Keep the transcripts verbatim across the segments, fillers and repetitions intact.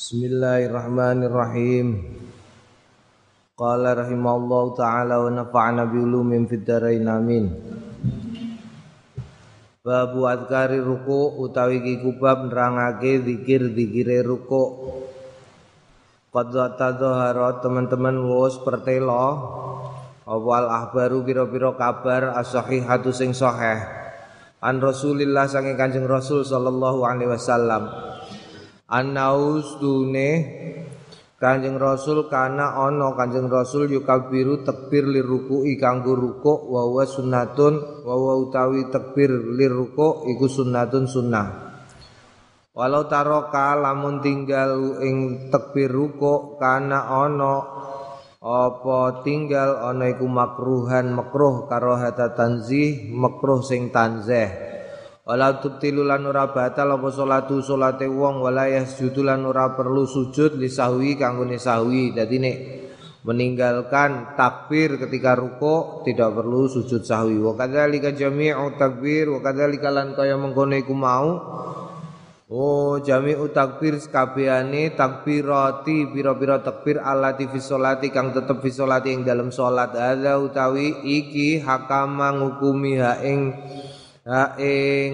Bismillahirrahmanirrahim. Qala rahimallahu ta'ala wa nafa'ana bi ulumin fid dharain amin. Babu adkari ruku utawi ki kubab nerangake zikir-zikire ruku. Qad tadhahara teman-teman wis pertelo awal ahbaru pira-pira kabar as-sahihatu sing sahih. An Rasulillah sange Kanjeng Rasul sallallahu alaihi wasallam. Anaus dune Kanjeng Rasul kana ana Kanjeng Rasul yukabiru takbir liruku'i kanggo rukuk wa wa sunnatun wa wa utawi takbir liruku' iku sunnatun sunnah. Walau taroka lamun tinggal ing takbir rukuk kana ana apa tinggal ana iku makruhan makruh karohata tanzih makruh sing tanzih. Wala tubtilu lan ora batal apa salatu salate wong wala yasjudu lan ora perlu sujud li sahwi kanggone sahwi. Dadi nek meninggalkan takbir ketika ruku tidak perlu sujud sahwi. Wa kadzalika jami'u takbir wa kadzalika lan kaya mengkono iku mau. Oh jami'u takbir sakabehane takbirati pira-pira takbir allati fi sholati kang tetep fi sholati ing dalem salat. Hadza utawi iki hakama ngukumi ha ing ha ing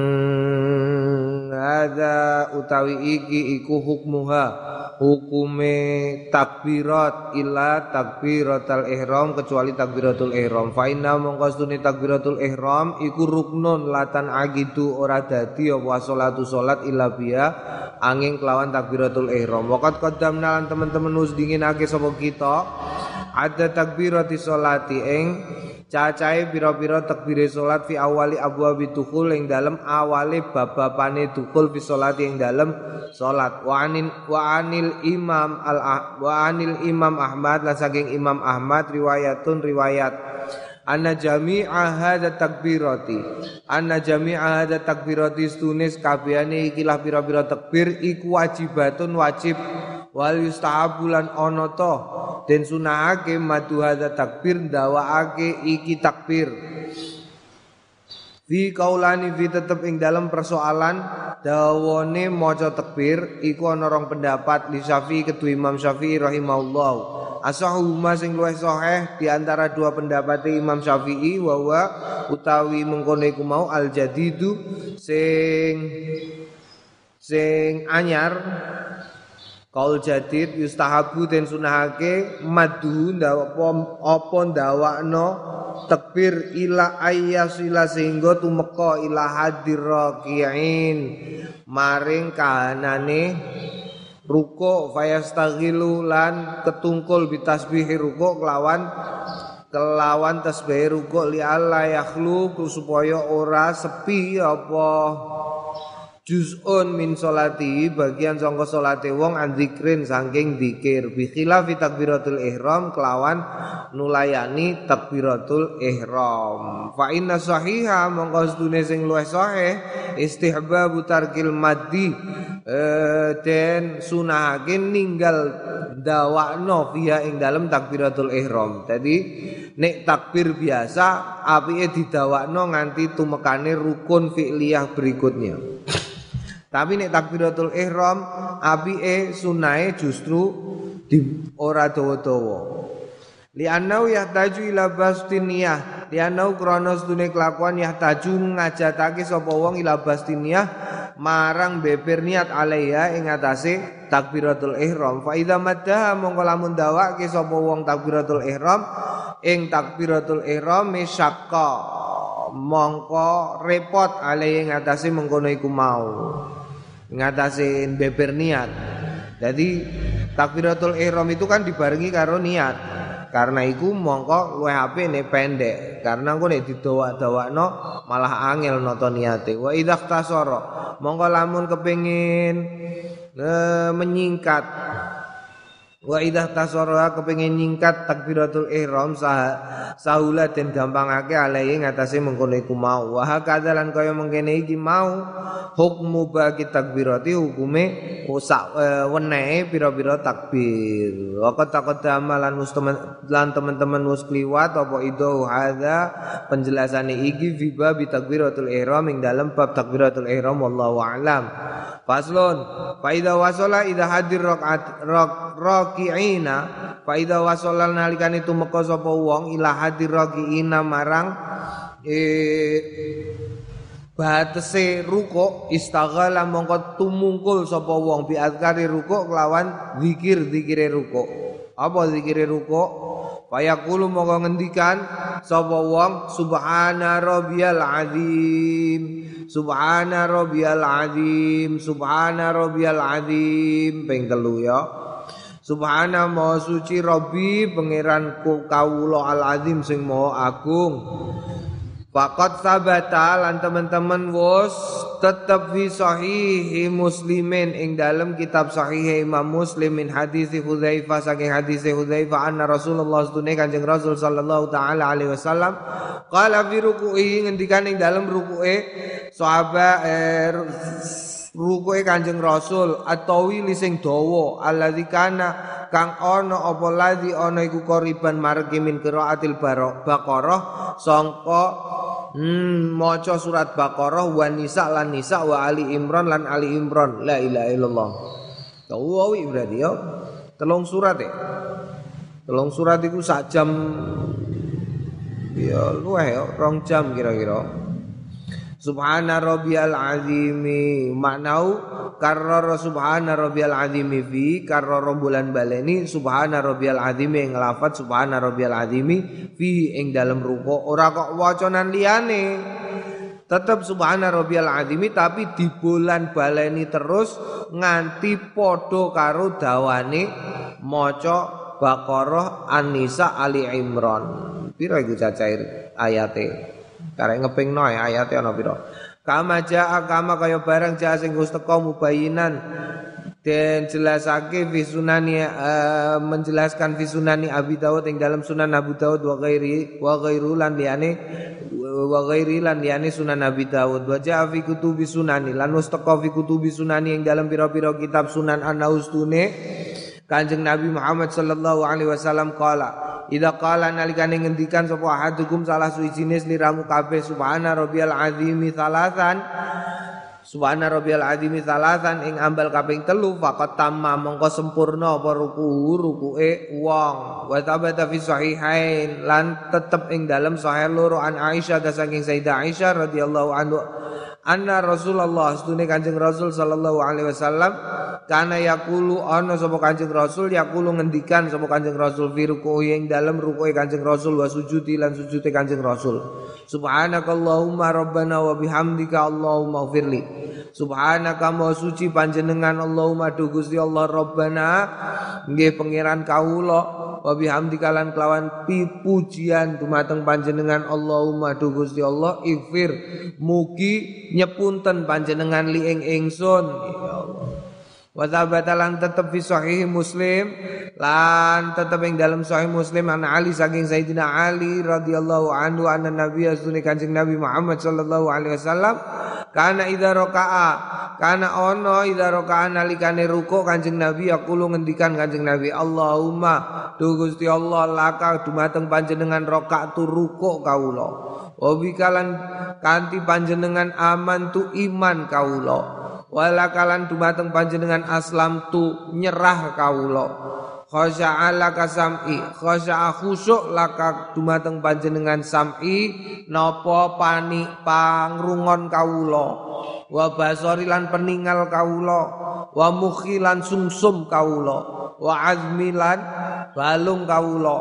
hadza utawi iki iku hukmuha hukume takbirat illa takbiratul ihram kecuali takbiratul ihram fa inna mongkostune takbiratul ihram iku ruknun latan agidu ora dadi apa salatu salat illa biya angin kelawan takbiratul ihram waqat qaddamna lan teman-teman wis dinginake sapa kita ada takbirati salati ing cacahe pira-pira takbire salat fi awali abwabi dukhul ing dalem awale bab-babane dukhul fi salati ing dalem salat wa anil wa anil imam al wa anil imam Ahmad lan saking Imam Ahmad riwayatun riwayat anna jami'a hadza takbirati anna jami'a hadza takbirati stunis kabehane ikilah pira-pira takbir iku wajibatun wajib wal yustahabulan ono to den sunahake madu hadza takbir ndawaake iki takbir fi kaulani fi tetep ing dalam persoalan dawane maca takbir iku ana rong pendapat li Syafi'i kedua Imam Syafi'i rahimahullah asahu ma sing luwih sahih di antara dua pendapat Imam Syafi'i wa wa utawi mengkono iku mau al jadidu sing sing anyar kaul jadid yustahabu den sunahake madhu ndawa apa ndawakno takbir ila ayyasila sehingga tumeka ila hadir raki'in maring kahanane ruku fayastaghilu lan ketungkul bitasbihi ruku kelawan kelawan tasbih ruku li alla yakhlu supaya ora sepi apa juz'un min sholati bagian sangka salate wong andzikrin saking zikir bi khilafi takbiratul ihram kelawan nulayani takbiratul ihram fa inna sahiha mongko sedune sing luwih sahih istihbabu tarkil maddi eh, den sunahake ninggal dawakno fiha ing dalem takbiratul ihram. Dadi nek takbir biasa apike didawakno nganti tumekane rukun fi'liyah berikutnya. Tapi nek takbiratul ihram apike sunahe justru di ora dawa-dawa. Li annau yahtaju ila bastiniyah, li annau krana sedune kelakuan yahtaju ngajatake sapa wong ila bastiniyah marang beber niat alaiha ing atase takbiratul ihram. Fa idza maddaha mongko lamun dawake sapa wong takbiratul ihram ing takbiratul ihram misakka mongko repot alaiha ing atase mengkono iku mau. Ngatasin beber niat. Jadi takbiratul ihram itu kan dibarengi karo niat. Karena iku mongko luwih apik nek pendek. Karena engko nek didawak-dawakno malah angel nata niate. Wa idza khtasara mongko lamun kepengin e, menyingkat Wa idah tasarra kepengin nyingkat takbiratul ihram sah sahula den gampangake alai ngatasé mengkono iku mau wa hakadzalan kaya mengkene iki mau hukmu bagi takbirati hukume sak e, wenehe pira-pira takbir wa qad-qadama lan lan teman-teman wis kliwat apa ido hadza penjelasane iki fi bab takbiratul ihram ing dalem bab takbiratul ihram wallahu a'lam. Faslun fa idza wasala idza hadir rakaat rakiina fa idza wasala nalikane tumeka sapa wong ila hadir rakiina marang e batese rukuk istaghala mongko tumungkul sapa wong bi azkari rukuk kelawan zikir-zikire rukuk. Apa zikire rukuk? Fayaqulu mongko ngendikan sapa wong subhana rabbiyal azim subhana rabbiyal azim subhana rabbiyal azim ping telu ya. Subhana maha suci Rabbi pangeran kawula al azim sing maha agung. Faqat sabata lan teman-teman wos tetap fi sahihi muslimin ing dalam kitab sahih Imam Muslim min hadis Hudzaifah saking hadis Hudzaifah anna Rasulullah sunne Kanjeng Rasul sallallahu taala alaihi wasallam qala fi ruku'i ngendikan ing dalam ruku'e sahabat er, ruku'e Kanjeng Rasul atawi sing dawa alladzi kana kang ana apa ladzi ana iku qoriban margi min qiraatil Baqarah sangka hmm maca surat Baqarah wa Nisa lan Nisa wa Ali Imran lan Ali Imran la ilaha illallah. Tawi berarti ya telung surat ya. Telung surat iku sak jam ya luweh ya rong jam kira-kira. Subhana rabbiyal azimi maknau karrar subhana rabbiyal azimi fi karrar bulan baleni subhana rabbiyal azimi ing lafaz subhana rabbiyal azimi fi ing dalam ruku ora kok wacanan liyane tetep subhana rabbiyal azimi tapi di bulan baleni terus nganti padha karo dawane maca Baqarah An-Nisa Ali Imran pira iku cacahe ayate karek ngepingno ayate ana pira kama jaa kama kaya barang jaa sing wis teka mubayinan den jelasake fi sunani uh, menjelaskan fi sunani Abi Dawud ing dalam Sunan Abu Dawud wa ghairi wa ghairu lan liyane wa ghairi lan liyane Sunan Abi Dawud wa jaa fi kutubi sunani lan wis teka fi kutubi sunani ing dalam pira-pira kitab Sunan An-Naustune Kanjeng Nabi Muhammad sallallahu alaihi wasallam qala idza qala nalikane ngendikan sapa ahadukum salah suwijine sliramu kabeh subhana rabbiyal azimi salasan subhana rabbiyal azimi salasan ing ambal kaping telu faqat tamma mongko sempurna apa ruku rukuke wong wa tabata fi sahihain lan tetep ing dalam sahih loro an Aisyah saking Sayyidah Aisyah radhiyallahu anha anna Rasulullah astune Kanjeng Rasul sallallahu alaihi wasallam kana yaqulu ana sapa Kanjeng Rasul yaqulu ngendikan sapa Kanjeng Rasul fi ruku'i ing dalem ruku'i Kanjeng Rasul wa sujudi lan sujude Kanjeng Rasul subhanakallahumma rabbana wa bihamdika allahumma ighfirli subhanaka ma suci panjenengan Allahumma du Gusti Allah rabbana nggih pangeran kawula wa bihamdika lan kelawan pujian dumateng panjenengan Allahumma du Gusti Allah ighfir mugi nyepunten panjenengan li ing ingsun ya Allah. Wa tsabata lan tetep fi sahih Muslim lan tetep ing dalam sahih Muslim an Ali saking Sayyidina Ali radhiyallahu anhu anna Nabi sunni Kanjeng Nabi Muhammad sallallahu alaihi wasallam kana idza raka'a kana ono idza raka'a nalikane ruku Kanjeng Nabi yaqulu ngendikan Kanjeng Nabi Allahumma du Gusti Allah laka dumateng panjenengan rakaatu ruku kawula wa bikalan kanthi panjenengan aman tu iman kawula walakalan dumateng panjenengan aslam tu nyerah kawula khasya'a laka sam'i khasya'a khusyuk laka dumateng panjenengan sam'i napa pani pangrungon kawula wa basari lan peningal kawula wa mukhi lan sumsum kawula wa azmi lan balung kawula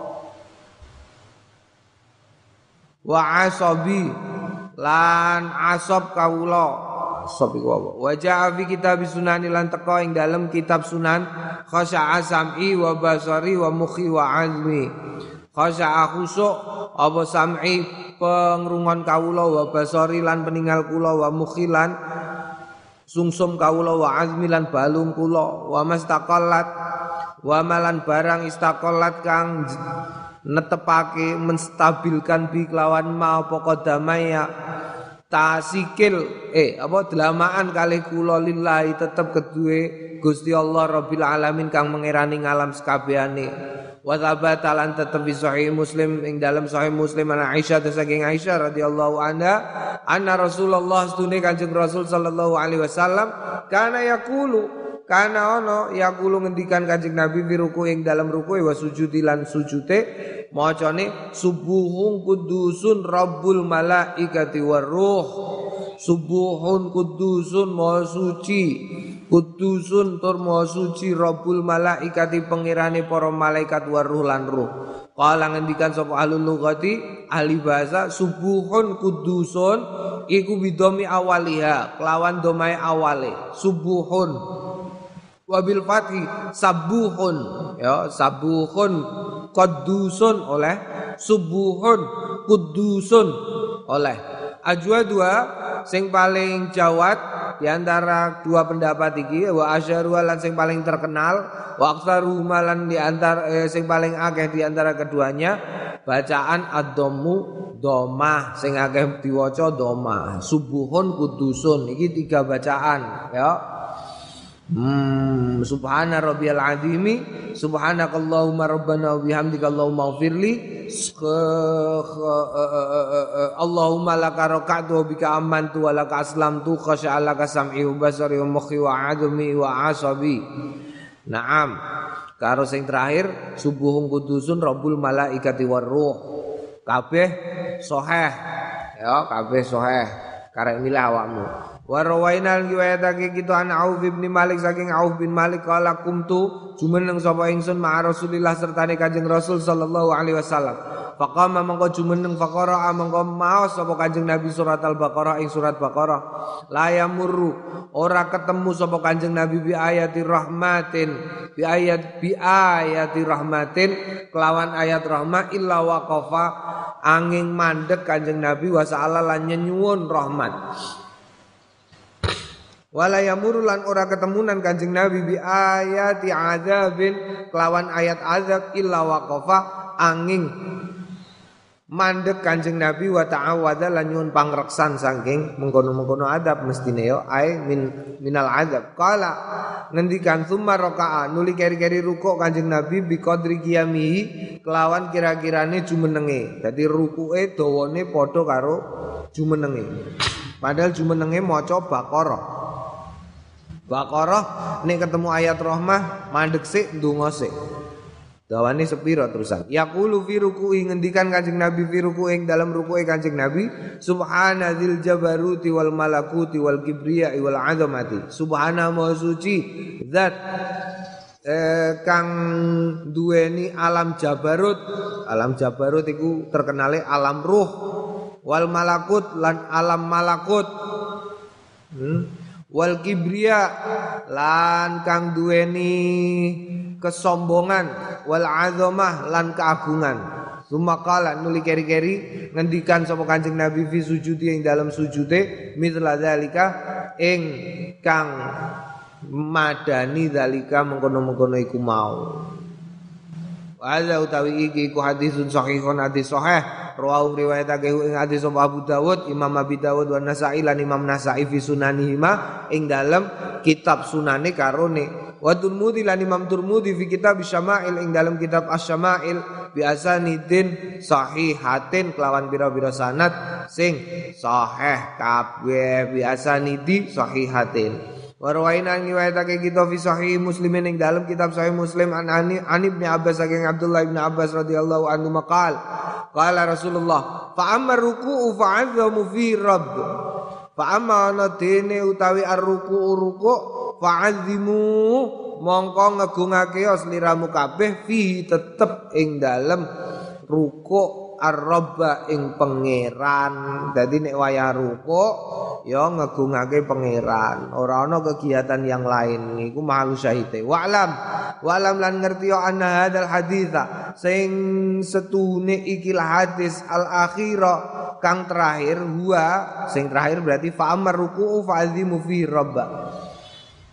wa asabi lan asab kawula sop iku apa wa ja'a fi kitab sunani lan teka ing dalem kitab sunan khasya'a sam'i wa basari wa mukhi wa azmi khasya'a khusuk apa sam'i pengrungon kawula wa basari lan peningal kula wa mukhi lan sungsum kawula wa azmi lan balung kula wa mastaqallat wa malan barang istaqallat kang netepake menstabilkan bi kelawan ma apa qadamaya tasikil eh apa delamaan kalih kula lillahi tetep kedue Gusti Allah Rabbil alamin kang mengerani ngalam sekabehane wa tsabata lan tetep fi sahih Muslim ing dalam sahih Muslim ana Aisyah saking Aisyah radhiyallahu anha anna Rasulullah stune Kanjeng Rasul sallallahu alaihi wasallam kana yaqulu kana ono yaqulu ngendikan Kanjeng Nabi fi ruku ing dalam ruku wa sujudi lan sujute macane subuhun kudusun rabbul malaikati waruh subuhun kudusun maha suci kudusun tur maha suci rabbul malaikati pengirane para malaikat waruh lan ruh kala ngendikan sapa ahlul lughati ahli bahasa subuhun kudusun iku bidomi awaliha kelawan domae awale subuhun wabil fathi sabuhun ya sabuhun Qudusun oleh subuhun kudusun oleh ajwa dua sing paling jawat diantara dua pendapat iki wa asyaru lan sing paling terkenal wa aktsaru malan diantara eh, sing paling akeh diantara keduanya bacaan ad-dhammu domah sing akeh diwaca domah subuhun kudusun iki tiga bacaan ya. Hmm, subhana rabbiyal azimi subhanakallahumma rabbana wa bihamdika allahumma ighfirli Allahumma laka raka'tu wa bika amantu wa laka aslamtu khasya'alaka sam'i wa basari wa mukhi wa admi wa asabi. Naam. Karo sing terakhir subuhun kudusun rabbul malaikati waruh. Kabeh sahih ya, kabeh sahih. Karek milih awakmu. Wa rawainal riwayatake kita an Auf bin Malik saking Auf bin Malik kala kumtu jumeneng sapa ingsun ma Rasulillah sertane Kanjeng Rasul sallallahu alaihi wasallam. Faqama mangko jumeneng faqara mangko maos sapa Kanjeng Nabi surat Al-Baqarah ing surat Baqarah. La yamurru ora ketemu sapa Kanjeng Nabi bi ayati rahmatin bi ayat bi ayati rahmatin kelawan ayat rahmat illa waqafa angin mandek Kanjeng Nabi wa sa'ala lan nyuwun rahmat. Wala yamuru lan ora ketemunan Kanjeng Nabi bi ayati adzabin kelawan ayat azab illa waqafa angin mandek Kanjeng Nabi wa ta'awadza lan nyuwun pangreksan saking mengkono-mengkono adab mestine yo ai min minal azab qala ngendikan summa raka'a nuli keri-keri rukuk Kanjeng Nabi bi qadri qiyamihi kelawan kira-kirane jumenenge dadi rukuke dawane padha karo jumenenge padahal jumenenge maca Baqarah Baqarah nek ketemu ayat rahmah mandek sik ndonga sik. Dawane sepiro terusan. Yaqulu fi ruku'i ngendikan Kanjeng Nabi fi ruku'i dalam ruku'i Kanjeng Nabi subhanadzil jabaruti wal malakuti wal kibriya wal azamati. Subhana maha suci zat eh, kang duweni alam jabarut. Alam jabarut iku terkenale alam ruh wal malakut lan alam malakut. Hmm. Wal kibriya lan kang duweni kesombongan wal azamah lan keagungan. Sumakala nuli keri-keri ngendikan sapa Kanjeng Nabi fi sujudi ing dalam sujude mithla zalika ing kang madani zalika mengkono-mengkono iku mau. Wa utawi iki ku hadisun sahihun hadis sahih rawahu riwayatake ing hadis Abu Dawud Imam Abi Dawud wa Nasa'i lan Imam Nasa'i fi sunanihima ing dalam kitab sunane karone wa Tirmidzi lan Imam Tirmidzi fi kitab Syama'il ing dalam kitab Asy-Syama'il bi asanidin sahihatin kelawan pira-pira sanad sing sahih kabeh bi asanidi sahihatin. Warwaina riwayatake kita fi sahih Muslimin ing dalam kitab sahih Muslim an ani an Ibnu Abbas saking Abdullah bin Abbas radhiyallahu anhu maqal qala Rasulullah fa amma ruku'u fa'azzamu fi rabb fa amma nadene utawi ar-ruku'u ruku' fa'azzimu mongko ngegungake sliramu kabeh fi tetep ing dalem ruku' ar-rabba ing pangeran. Dadi nek wayah rukuk ya ngegungake pangeran, ora ana kegiatan yang lain. Iku mahal syahite. Wa'lam, wa'lam lan ngerti ya anna hadzal haditsa sing setune ikilah hadis al-akhira kang terakhir huwa sing terakhir berarti fa amar ruku'u fa'azimu fi rabba.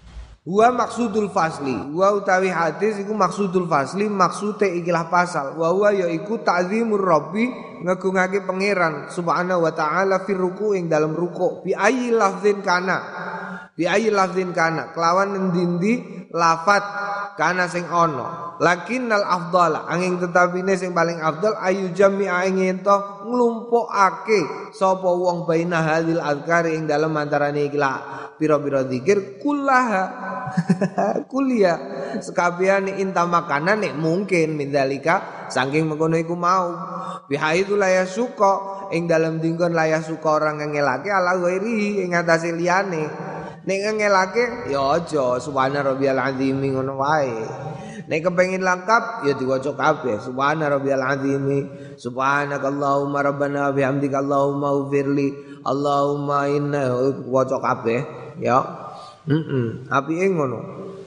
Wa maksudul fasli, wa utawi hadis iku maksudul fasli, maksude ikilah pasal. Wa huwa ya iku ta'zimur rabbi, ngagungake pangeran subhanahu wa ta'ala fir ruku ing dalam ruku bi ayyi lafzin kana. Bi ayyi lafzin kana, kelawan endi-endi lafat kana sing ana. Lakinnal afdhala, angin tetapine sing paling afdal ayu jami'a ing ento nglumpukake sapa wong baina hadil azkari ing dalam antarane ikilah pira-pira zikir kullaha kulia sekabehane inta makanan nek mungkin mindalika saking mengkono iku mau bihaitsu la yasuqa ing dalem dinggon la yasuqa orang ngelake ala ghairi ing atase liyane nek ngelake ya aja subhana rabbiyal azim ngono wae nek kepengin lengkap ya diwaca kabeh subhana rabbiyal azim subhanakallahumma rabbana bihamdika allahumma ighfirli allahumma inna waca kabeh ya heeh apike ngono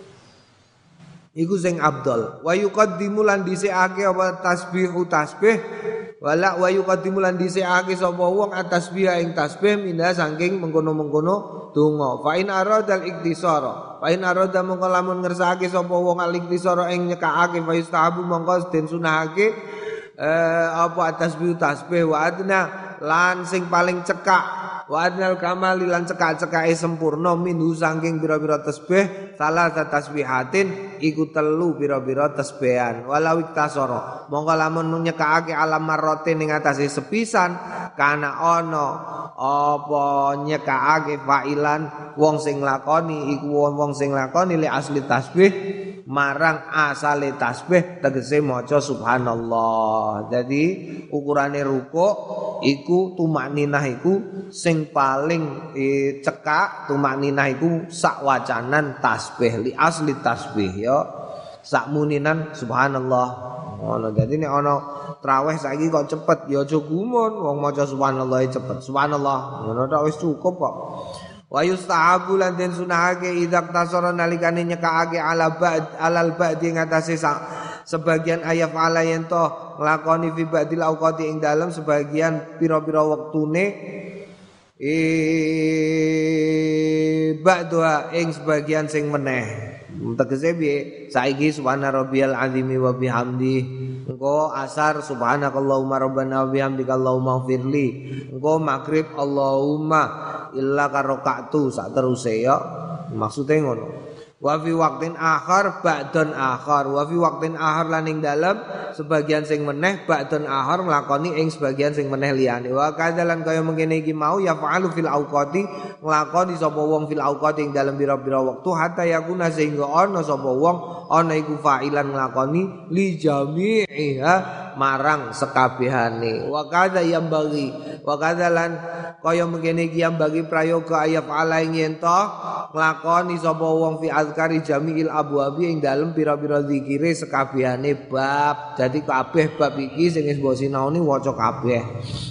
iku sing afdal wa yuqaddimu lan dhisikake apa tasbihu tasbih wala wa yuqaddimu lan dhisikake sapa wong atasbih ing tasbih minha saking mengkono-mengkono donga fa in aradal iktisara fa in arada mongko lamun ngersakake sapa wong al iktisara ing nyekakake fa yustahabu mongko den sunahake eh, apa tasbih tasbih wa adna lan sing paling cekak wa adnal kamali lan cekak-cekake sempurna minhu saking pira-pira tasbih salah tasbihatin iku telu pira-pira tasbihan walau iktasara monggo lamun nyekakake alam marrate ning atase sepisan kana ana apa nyekakake fa'ilan wong sing lakoni iku wong sing lakoni li asli tasbih marang asale tasbih tegese maca subhanallah. Jadi ukurane rukuk iku tumakninah iku sing paling e, cekak tumakninah iku sak wacanan tasbih li asli tasbih ya sak muninan subhanallah. Ngono dadi nek ana traweh saiki kok cepet ya aja gumun wong maca subhanallah cepet subhanallah ngono tok wis cukup kok. Wa yustahabu lan den sunahake idak tasara nalikane nyekake ala ba'd alal ba'di ngatasé sebagian ayat ala yen to nglakoni fi ba'dil auqati ing dalem sebagian pira-pira wektune e ba'dha ing sebagian sing meneh tegese piye saiki subhana rabbiyal azimi wa bihamdi engko asar subhanakallahumma rabbana wa bihamdika allahumma ighfirli engko maghrib allahumma illa karokatu sak teruse ya maksude ngono wa fi waqtin akhar ba'dun akhar wa fi waqtin akhar lan ing dalem sebagian sing meneh ba'dun akhar nglakoni ing sebagian sing meneh liyane wa kadzalan kaya mengkene iki mau ya fa'alu fil auqati nglakoni sapa wong fil auqati ing dalem pira-pira wektu hatta yakuna sehingga ana sapa wong ana iku fa'ilan nglakoni li jami'iha marang sekabehane wa kadza yang bagi wa kadzalan kaya mengkene iki yang bagi prayoga ayat ala ing yen to nglakoni sapa wong fi azkari jami'il abwabi ing dalem pira-pira zikire sekabehane bab dadi kabeh bab iki sing wis mbok sinaoni waca kabeh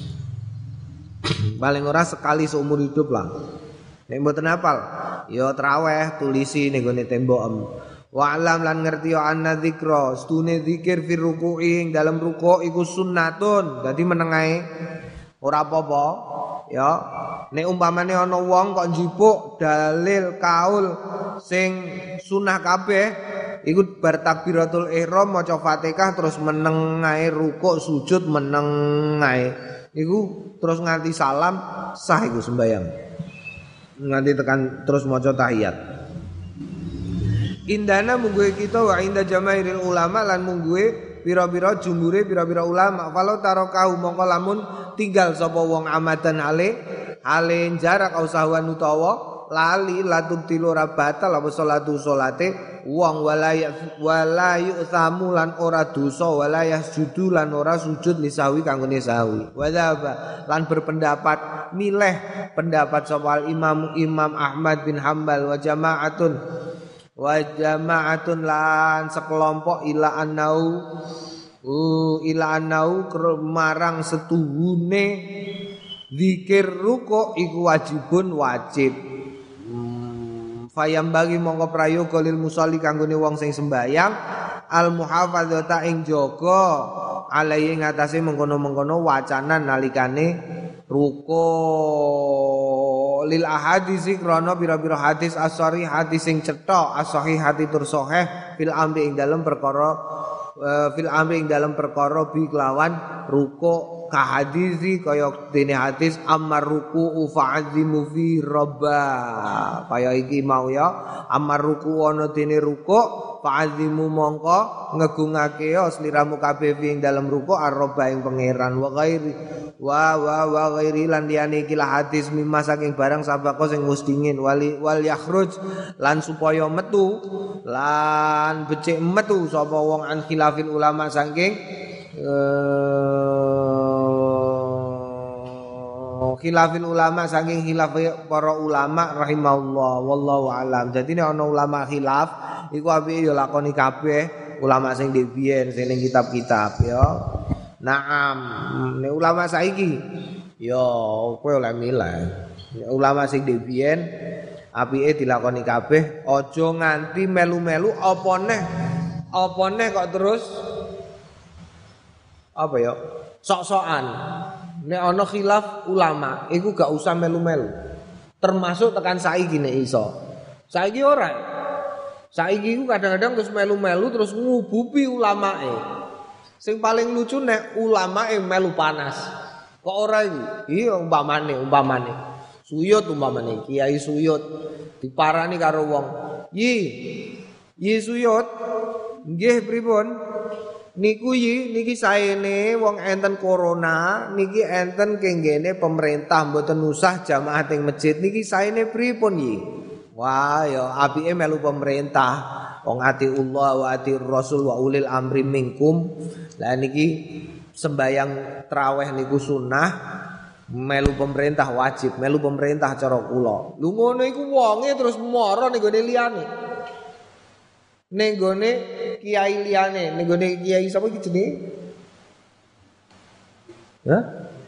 paling ora sekali seumur hidup lah nek mboten hafal ya traweh tulisi ning gone tembokem wa alam lan ngerti ya anna dzikra stune zikir fi ruku'i ing dalam ruku' iku sunnatun dadi menengae ora apa-apa ya nek umpamane ana wong kok njipuk dalil kaul sing sunah kabeh iku bar takbiratul ihram maca Fatihah terus meneng ae rukuk sujud meneng ae iku terus nganti salam sah iku sembayang nganti tekan terus maca tahiyat indana mungguhe kita wa inda jamaahiril ulama lan mungguhe pira-pira jumhure pira-pira ulama falau tarokahu mongko lamun tinggal sapa wong amadan ale ale jarak ausahwan utawa lali latub tilu ora batal apa salatu salate wong walaya walayu samu lan ora dosa walayah judu lan ora sujud lisawi kanggone sawi wadaba lan berpendapat milih pendapat sapa imam Imam Ahmad bin Hambal wa jamaatun wa jama'atun lan sekelompok ila annau uh, ila annau marang setuhune zikir ruku iku wajibun wajib hmm, fayam bagi mongko prayoga lil musolli kanggone wong sing sembayang al muhafadzata ing jaga alai ngatasi mengkono-mengkono wacanan nalikane ruku lil ahadisi krana pira-pira hadis as-sahih hadis sing cetha as-sahih hati tur sahih fil amri ing dalem perkara uh, fil amri ing dalem perkara bi kelawan ruku ka hadisi kaya dene hadis amar ruku fa'azimu fi rabba kaya iki mau ya amar ruku ana dene ruku fa'azimu mongko ngegungake ya sliramu kabeh ing dalem ruku ar-rabba ing pangeran wa ghairi wa wa wa ghairi lan liyane iki hadis mimma saking barang sabako sing wis dingin wali wal yakhruj lan supaya metu lan becik metu sapa wong an khilafil ulama saking uh, khilafil ulama saking khilaf para ulama rahimahullah wallahu alam. Dadi nek ana ulama khilaf iku apike ya lakoni kabeh ulama sing dhewe sing ning kitab-kitab ya. Naam, nek ulama saiki ya kowe oleh milih. Nek ulama sing dhewe apike dilakoni kabeh, aja nganti melu-melu apa neh apa neh kok terus apa ya? Sok-sokan. Nek ana khilaf ulama, iku gak usah melu-melu. Termasuk tekan saiki nek iso. Saiki ora. Saiki iku kadang-kadang terus melu-melu terus ngububi ulamae. Sing paling lucu nek ulamae melu panas. Kok ora iku? Iya umpamane, umpamane. Suyut umpamane, Kiai Suyut diparani karo wong. Yi. Yi Suyut. Nggih pripun? Niku yi niki saene wong enten corona niki enten kenggene pemerintah mboten usah jamaah teng masjid niki saene pripun yi. Wah ya apike melu pemerintah. Wong ati Allah wa ati Rasul wa ulil amri minkum. Lah niki sembayang traweh niku sunnah melu pemerintah wajib, melu pemerintah cara kula. Lu ngono iku wonge terus mara ning gone liyane. Ning gone kiai liyane, ning gone kiai sapa iki jenenge? Hah?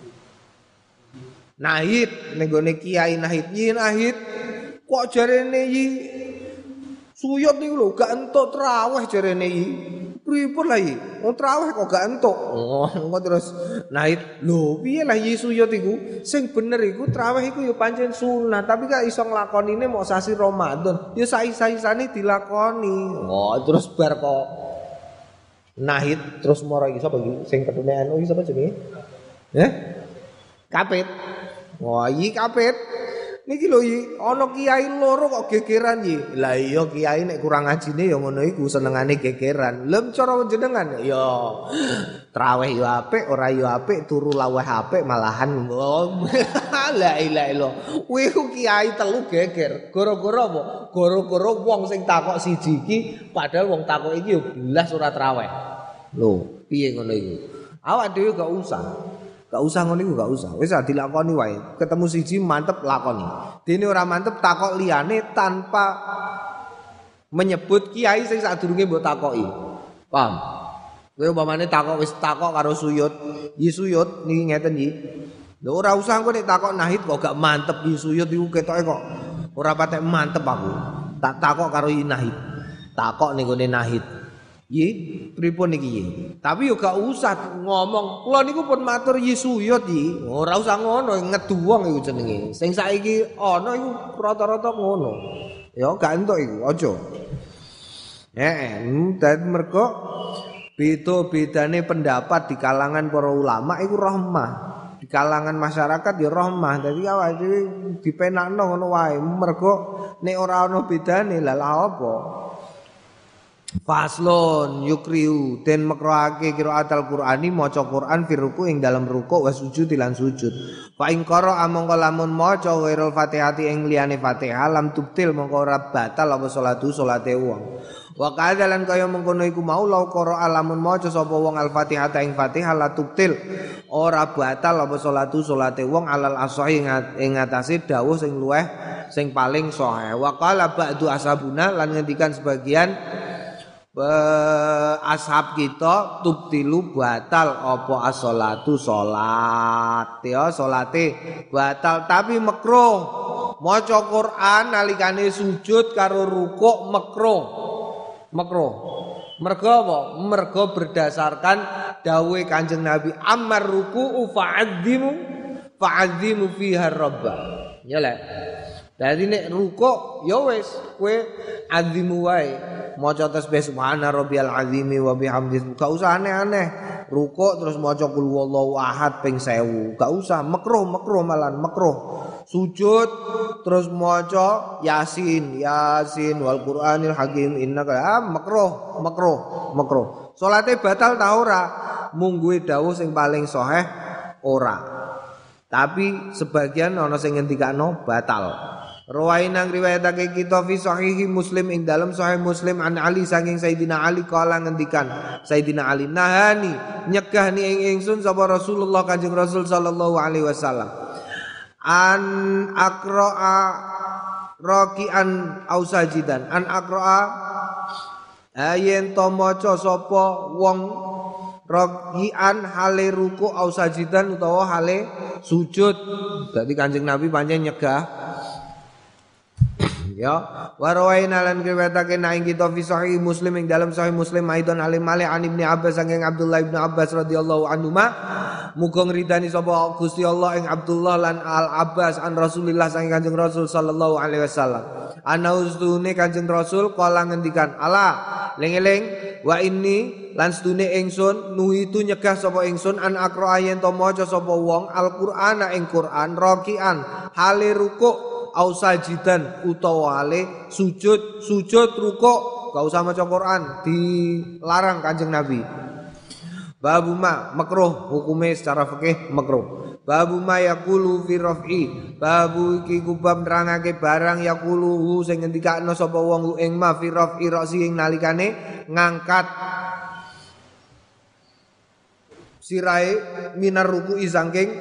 Nahid, ning gone kiai Nahid. Yi Nahid kok jarene yi Suyut niku lho gak entuk traweh jarene yi. Pripun lah yi? Wong traweh kok gak entuk. Oh, engko terus Nahid, lho piye lah yi Suyut iku? Sing bener iku traweh iku ya pancen sunah, tapi gak iso nglakonine mok sasi Ramadan. Ya sai-saisane dilakoni. Oh, terus bar kok Nahid terus moro iki sapa iki? Sing ketune anu iki sapa jenenge? Heh? Kapit. Wah, yi kapit. Niki lho iki ana kiai loro kok gegeran iki. Lah iya kiai nek kurang ngajine ya ngono iku senengane gegeran. Lem cara jenengan ya traweh yo apik, ora yo apik, turu laweh apik malahan. La ilaha illallah. Kuwi ku kiai telu geger. Gara-gara apa? Gara-gara wong sing takok siji iki padahal wong takok iki yo belas ora traweh. Lho, piye ngono iku? Awak dhewe gak usah. Gak usah ngono iku gak usah. Wis dilakoni wae. Ketemu siji mantep lakoni. Dene ora mantep takok liyane tanpa menyebut kiai sing sadurunge mbok takoki. Paham? Kowe umpamane takok wis takok karo Suyut, "Yi Suyut niki ngeten iki." Lho ora usah engko nek takok Nahid kok gak mantep Yi Suyut iku ketoke kok ora patek mantep aku. Tak takok karo Yi Nahid. Takok ning gone Nahid. Yi, pripun niki yi? Tapi yo gak usah ngomong. Kula niku pun matur Yi Suyut yi. Ora usah ngono, ngeduwong iku jenenge. Sing saiki ana iku rata-rata ngono. Ya gak entuk iku, aja. Heeh, dadi mergo beda-bedane pendapat di kalangan para ulama iku rahmah. Di kalangan masyarakat ya rahmah. Dadi awake dhewe dipenakno ngono wae. Mergo nek ora ana bedane lha apa? Faslon yukriu den makroake qiraatul Qur'ani maca Qur'an fi ruku ing dalam ruku wa sujud lan sujud. Fa ing qara amangka lamun maca ghairul Fatihati ing liyane Fatihah lam tubtil mongko ora batal apa salatu salate wong. Wa kadzalan kaya mengkono iku mau law qara lamun maca sapa wong al-Fatihah ing Fatihah la tubtil ora batal apa salatu salate wong alal asahi ing atase dawuh sing luweh sing paling sahih. Wa qala ba'du ashabuna lan ngendikan sebagian ashab kita tubtilu batal apa as-sholatu salat ya salate batal tapi makruh maca Quran nalikane sujud karo rukuk makruh makruh mergo apa mergo berdasarkan dawuh Kanjeng Nabi ammar ruku'u fa'azzimu fa'azzimu fiha rabba ya lek Dadi nek rukuk ya wis kowe azimu wae. Maca tasbih subhana rabbiyal azimi wa bihamdihi. Gak usah aneh-aneh. Rukuk terus maca qul huwallahu ahad ping seribu. Gak usah makruh, makruh malan makruh. Sujud terus maca Yasin, Yasin wal Qur'anil Hakim innaka ah, makruh, makruh, makruh. Salate batal ta ora? Mungguhe dawuh sing paling sahih ora. Tapi sebagian ana sing ngendikano batal. Rawainang riwayatake kita fi sahihi Muslim ing dalam sahih Muslim an Ali saking Sayyidina Ali kala ngendikan Sayyidina Ali nahani nyegah ni ing ingsun sapa Rasulullah Kanjeng Rasul sallallahu alaihi wasallam an aqra'a raki'an au sajidan an aqra'a ayen to maca sapa wong raki'an hale ruku au sajidan utawa hale sujud. Dadi Kanjeng Nabi pancen nyegah ya warawaina lan riwayatake naing kita fi sahih Muslim ing dalam sahih Muslim aidon alim mali an Ibnu Abbas saking Abdullah Ibnu Abbas radhiyallahu anhuma muga ngridani sapa Gusti Allah ing Abdullah lan Al Abbas an Rasulillah saking Kanjeng Rasul sallallahu alaihi wasallam ana ustune Kanjeng Rasul kala ngendikan ala ling-eling wa inni lan stune ingsun nuhitu nyegah sapa ingsun an akra yen to maca sapa wong Al-Qur'ana ing Qur'an rakian hale rukuk au sajidan utawa ale sujud sujud rukuk gak usah maca Quran dilarang Kanjeng Nabi. Babu ma makruh hukume secara fikih makruh. Babu ma yaqulu fi raf'i babu iki kubab nerangake barang yaqulu sing ngendikane sapa wong ing ma fi raf'i ra'si ing nalikane ngangkat sirahe minar ruku'i saking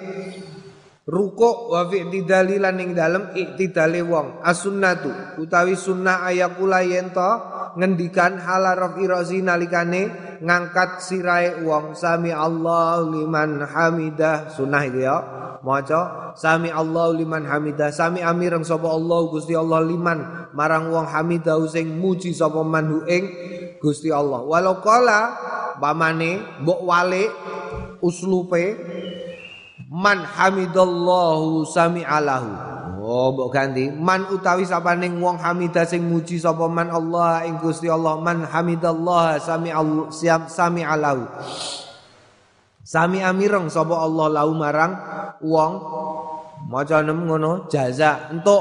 rukuk wa fi i'tidali lan ing dalem i'tidale wong as-sunnatu utawi sunnah ayakula yen to ngendikan hala rafi razi nalikane ngangkat sirahe wong sami Allahu liman hamidah sunnah itu ya maca sami Allahu liman hamidah sami amireng sapa Allah Gusti Allah liman marang wong hamidah sing muji sapa manhu ing Gusti Allah walau kala pamane mbok wale uslupe man hamidallahu sami'alahu. Oh, mbok ganti. Man utawi sapaning wong hamidah sing muji sapa man Allah ing Gusti Allah man hamidallah sami'al sami'alahu. Sami amireng sapa Allah lahu marang wong maca nem ngono jaza entuk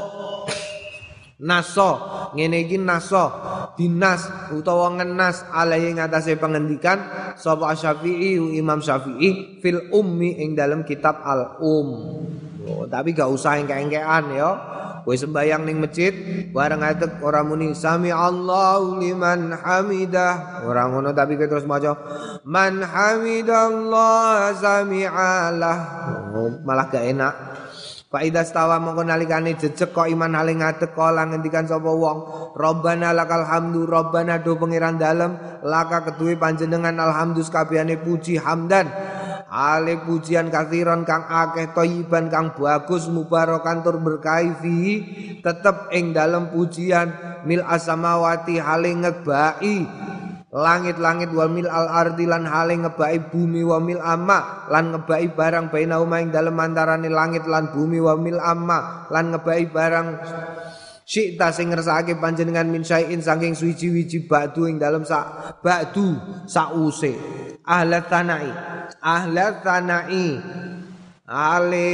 naso ngene iki naso dinas utawa ngenas alaihi ngatasé pengendikan sapa Syafi'i Imam Syafi'i fil ummi ing dalam kitab al um. Oh, tapi gak usah engke-engkean ya. Kowe sembayang ning masjid bareng atek ora muni sami Allahu liman hamidah. Ora ngono tapi kowe terus maca man hamidallah sami'alah. Oh, malah gak enak. Fa idza stawa mongko nalikane jejeg kok iman hale ngadeg kala ngendikan sapa wong Rabbana lakal hamdu Rabbana do pangeran dalem laka keduwe panjenengan alhamdu sakabehane puji hamdan ale pujian kathiron kang akeh thayyiban kang bagus mubarakan tur berkahi fihi tetep ing dalem pujian mil asamawati hale ngebai langit-langit wa mil al ardi lan hale ngebai bumi wa mil amma lan ngebai barang bainauma ing dalem antarane langit lan bumi wa mil amma lan ngebai barang syi'ta sing ngersakake panjenengan min syai'in saking suwiji-wiji ba'du ing dalem sak ba'du sause ahlat tanai ahlat tanai ale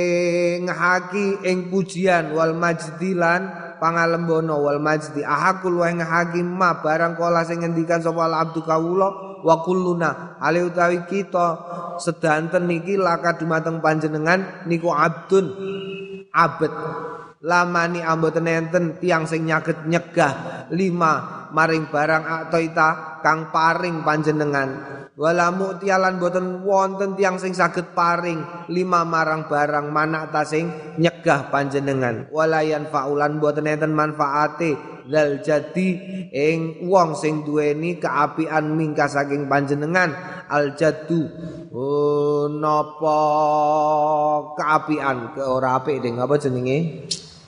ngahaki ing pujian wal majdilan pangalembono wal majdi ahakul wa hakim ma barang kala sing ngendikan sapa al abdu kawula wa kulluna ale utawi kita sedanten niki laka dumateng panjenengan niku abdun abet lamani amboten enten tiyang sing nyaget nyegah lima maring barang atoita kang paring panjenengan wala mu'tialan boten wonten tiyang sing saged paring lima marang barang manak ta sing nyegah panjenengan walayan faulan boten enten manfaate zal jadi ing wong sing duweni kaapian mingka saking panjenengan al jaddu oh, napa kaapian ke ora apik ding apa jenenge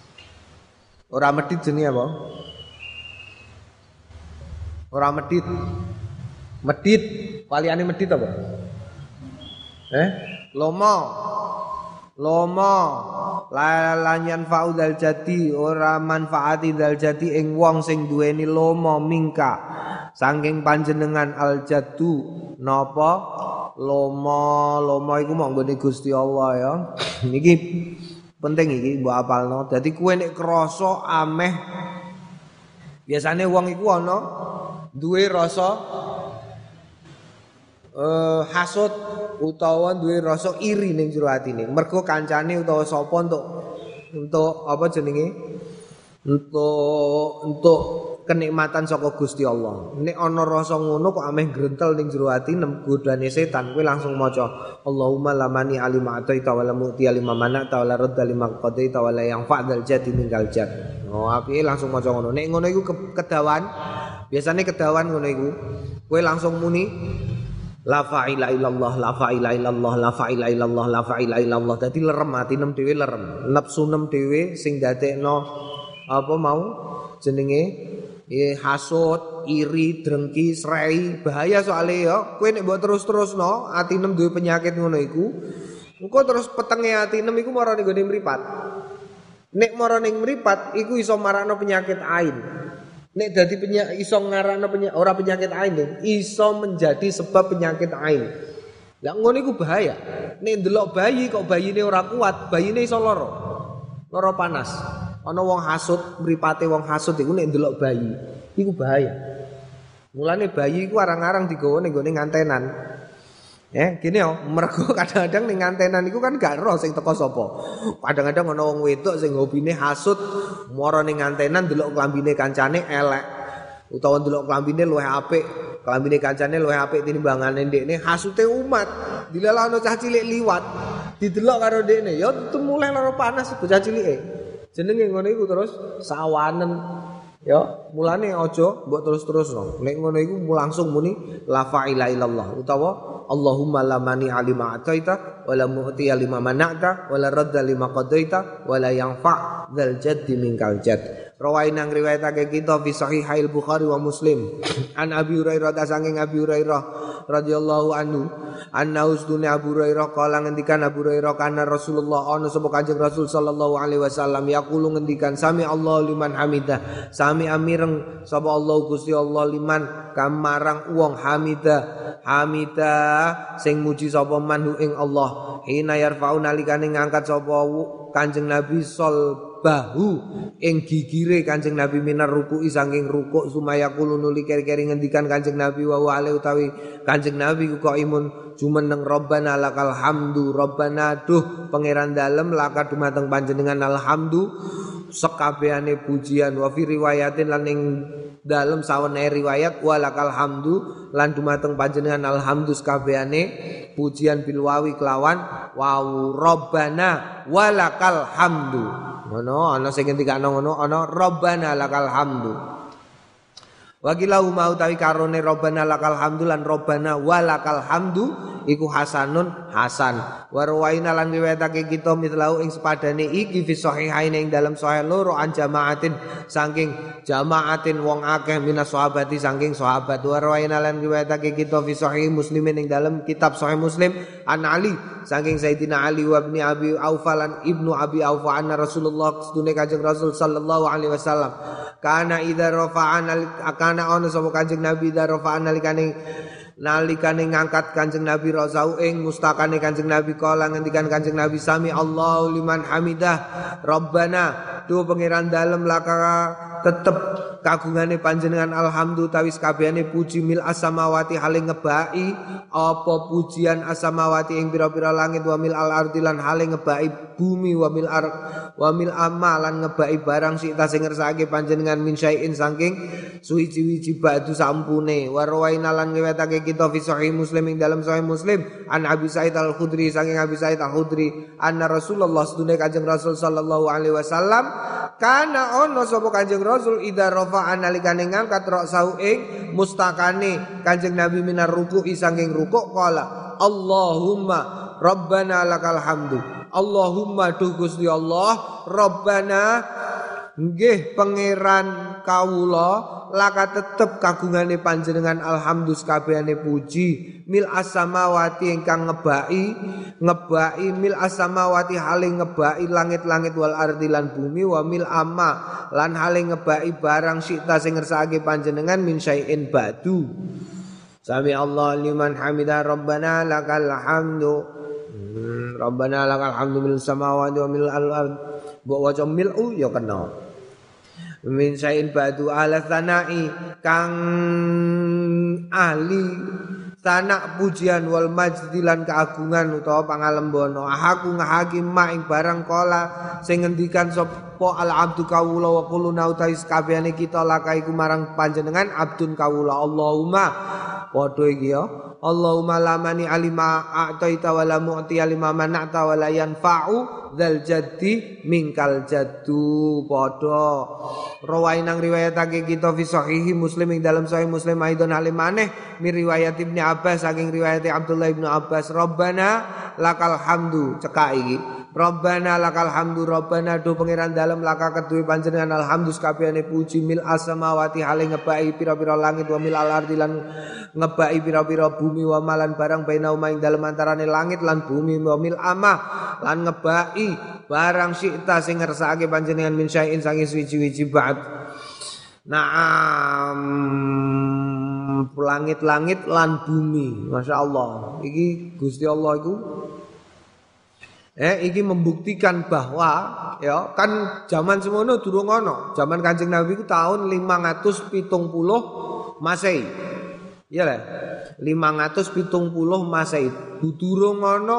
ora medhit jenenge apa ora medhit medhit paliane medhit apa eh lomo lomo lan yanfa'u dzal jati ora manfaati dzal jati ing wong sing duweni lomo mingka saking panjenengan al jaddu napa lomo lomo iku mok nggone Gusti Allah ya niki penting iki mbok apalno dadi kowe nek krasa ameh biasane wong iku ana duwe rasa uh, hasud utawa duwe rasa iri ning jero atine mergo kancane utawa sapa untuk untuk apa jenenge untuk untuk kenikmatan saka Gusti Allah. Nek ana rasa ngono kok ameh grentel ning jero ati nem godane setan kowe langsung maca Allahumma lamani alima ataita wa lamuti alima manata wa la radda lima qadaita wa la yanfa'dal jati mingal jat. Oh apike langsung maca ngono. Nek ngono iku kedawan biasane kedawan ngono iku kowe langsung muni la fa'ila illallah la fa'ila illallah la fa'ila illallah la fa'ila illallah dadi lerem atinem dhewe lerem nafsu nem dhewe sing dadekno apa mau jenenge eh hasud iri drengki srei bahaya soalnya ya kowe nek mbok terus-terusno atinem duwe penyakit ngono iku engko terus petenge atinem iku marane nggone mripat nek marane mripat iku iso marakno penyakit ain. Nek dadi penyakit iso ngarakno penyakit ora penyakit ain, iso menjadi sebab penyakit ain. Lah ngono iku bahaya. Nek ndelok bayi kok bayine ora kuat, bayine iso lara. Lara panas. Ana wong hasud, mripate wong hasud iku nek ndelok bayi, iku bahaya. Mulane bayi iku arang-arang digawa ning gone ngantenan. Ya, gini yo, mergo kadang-kadang ning ngantenan iku kan gak ero sing teko sapa. Kadang-kadang ana wong wedok sing hobine hasud, mara ning ngantenan delok klambine kancane elek. Utawa delok klambine luwih apik, klambine kancane luwih apik tinimbangane ndekne, hasute umat. Dilalah ana cah cilik liwat, didelok karo ndekne, ya mulai lara panas bocah cilike. Jenenge ngono iku terus sawanen. Ya, mulane aja mbok terus-terusno. Nek ngono iku langsung muni la fa'ila illallah utawa Allahumma la mani alima ataita wa la mu'ti lima mana'ta wa la radda lima qadaita wa la yanfa' dzal jaddi minkal jadd. Rawaina ngriwayatake kita fi sahihail Bukhari wa Muslim. An Abi Hurairah saking Abi Hurairah radhiyallahu anhu anna usdune Abu Hurairah kala ngendikan Abu Hurairah kana Rasulullah ana sapa Kanjeng Rasul sallallahu alaihi wasallam yaqulu ngendikan sami Allah liman hamidah sami amireng sapa Allah Gusti Allah liman kamarang wong hamidah hamidah sing muji sapa manhu ing Allah hina yarfa'u nalikane ngangkat sapa Kanjeng Nabi sol bahu ing gigire Kanjeng Nabi minar ruku'i saking rukuk sumaya kulo nuli keri-keri ngendikan Kanjeng Nabi wa wa utawi Kanjeng Nabi ku imun jumeneng Rabbana lakal hamdu Rabbana duh pangeran dalem laka dumateng panjenengan alhamdu sekabehane pujian wa fi riwayatin lan ing dalem sawene riwayat wa lakal hamdu lan dumateng panjenengan alhamdu sekabehane pujian bil wawi kelawan wau Rabbana walakal hamdu ngono ana sing ngendikane ngono ana Rabbana lakal hamdu wakilahu mau tawi karone Rabbana lakal hamdu lan Rabbana walakal hamdu iku hasanun hasan wa rawaina lan riwayatake kita mitlau ing sepadane iki fi sahihain ing dalam sahih loro an jamaatin saking jamaatin wong akeh minas sahabati saking sahabat wa rawaina lan riwayatake kita fi sahih muslimin ing dalam kitab sahih Muslim an Ali saking Sayyidina Ali wa ibni Abi Aufa lan ibnu Abi Aufa anna Rasulullah sedune Kanjeng Rasul sallallahu alaihi wasallam kana idza rafa'ana kana ana sapa Kanjeng Nabi idza rafa'ana likane nalikane ngangkat Kanjeng Nabi rasau ing mustakane Kanjeng Nabi kala ngendikan Kanjeng Nabi sami Allahu liman hamidah Rabbana tu pangeran dalem laka tetep kagungane panjenengan alhamdu tawis kabehane puji mil asamawati hale ngebaki apa pujian asamawati ing pira-pira langit wa mil al ardi lan hale ngebaki bumi wa mil ar wa mil amalan ngebaki barang sik ta sing ngersake panjenengan min syai'in saking suwi-wiji ba'du sampune wa rawaina lan ngewetake kita fi sahih Muslim ing dalam sahih Muslim an Abi Sa'id Al-Khudri saking Abi Sa'id Al-Khudri anna Rasulullah sedune Kanjeng Rasul sallallahu alaihi wasallam kana ono sapa Kanjeng Rasul idza rafa'a nalikane ngangkat ra'sau ing mustakane Kanjeng Nabi minar ruku'i saking rukuk qala Allahumma Rabbana lakal hamdu Allahumma duh Gusti Allah Rabbana nggih pangeran kawula laka tetep kagungane panjenengan alhamdulillah kabehane puji mil as-samawati ingkang ngebaki ngebaki mil as-samawati hale ngebaki langit-langit wal ardi lan bumi wa mil amma lan hale ngebaki barang sita sing ngersakake panjenengan min syai'in ba'du. Sami Allah liman hamidah rabbana lakal hamdu hmm, rabbana lakal hamdu mil samawati wa mil al-ard mbok waca mil'u ya kena min syai'in ba'du ala sanai kang ahli sanak pujian wal majdilan keagungan utawa pangalembono aku ngahaki mak ing barang kala sing ngendikan sapa al abdu kawula wa quluna utawi kabehane kita lakai ku marang panjenengan abdun kawula Allahumma padha iki ya Allahumma lamani alima a'taita wa la mu'ti alima mana'ta wa la yanfa'u dzal jaddi minkal jaddu padha rawain nang riwayatake kita fi sahihi Muslim ing dalam sahih Muslim aidon halim maneh mi riwayat Ibnu Abbas saking riwayat Abdullah Ibnu Abbas Rabbana lakal hamdu cekak iki Rabbana lakal hamdu Rabbana do pangeran dalem laka keduwe panjenengan alhamdulillah kabehane puji mil as-samawati hale ngebaki pira-pira langit wa mil al-ardi lan ngebaki pira-pira bumi wa malan barang baina ing dalem antarane langit lan bumi wa mil amah lan ngebaki barang syi'ta sing ngersakake panjenengan min syai'in sange suci-suci ba'd. Naam langit-langit lan bumi. Masyaallah. Iki Gusti Allah iku Eh, iki membuktikan bahwa ya kan zaman semono durung ono. Zaman Kanjeng Nabi ku tahun lima ratus pitung puluh Masehi. Iya lah. lima ratus pitung puluh Masehi. Durung ono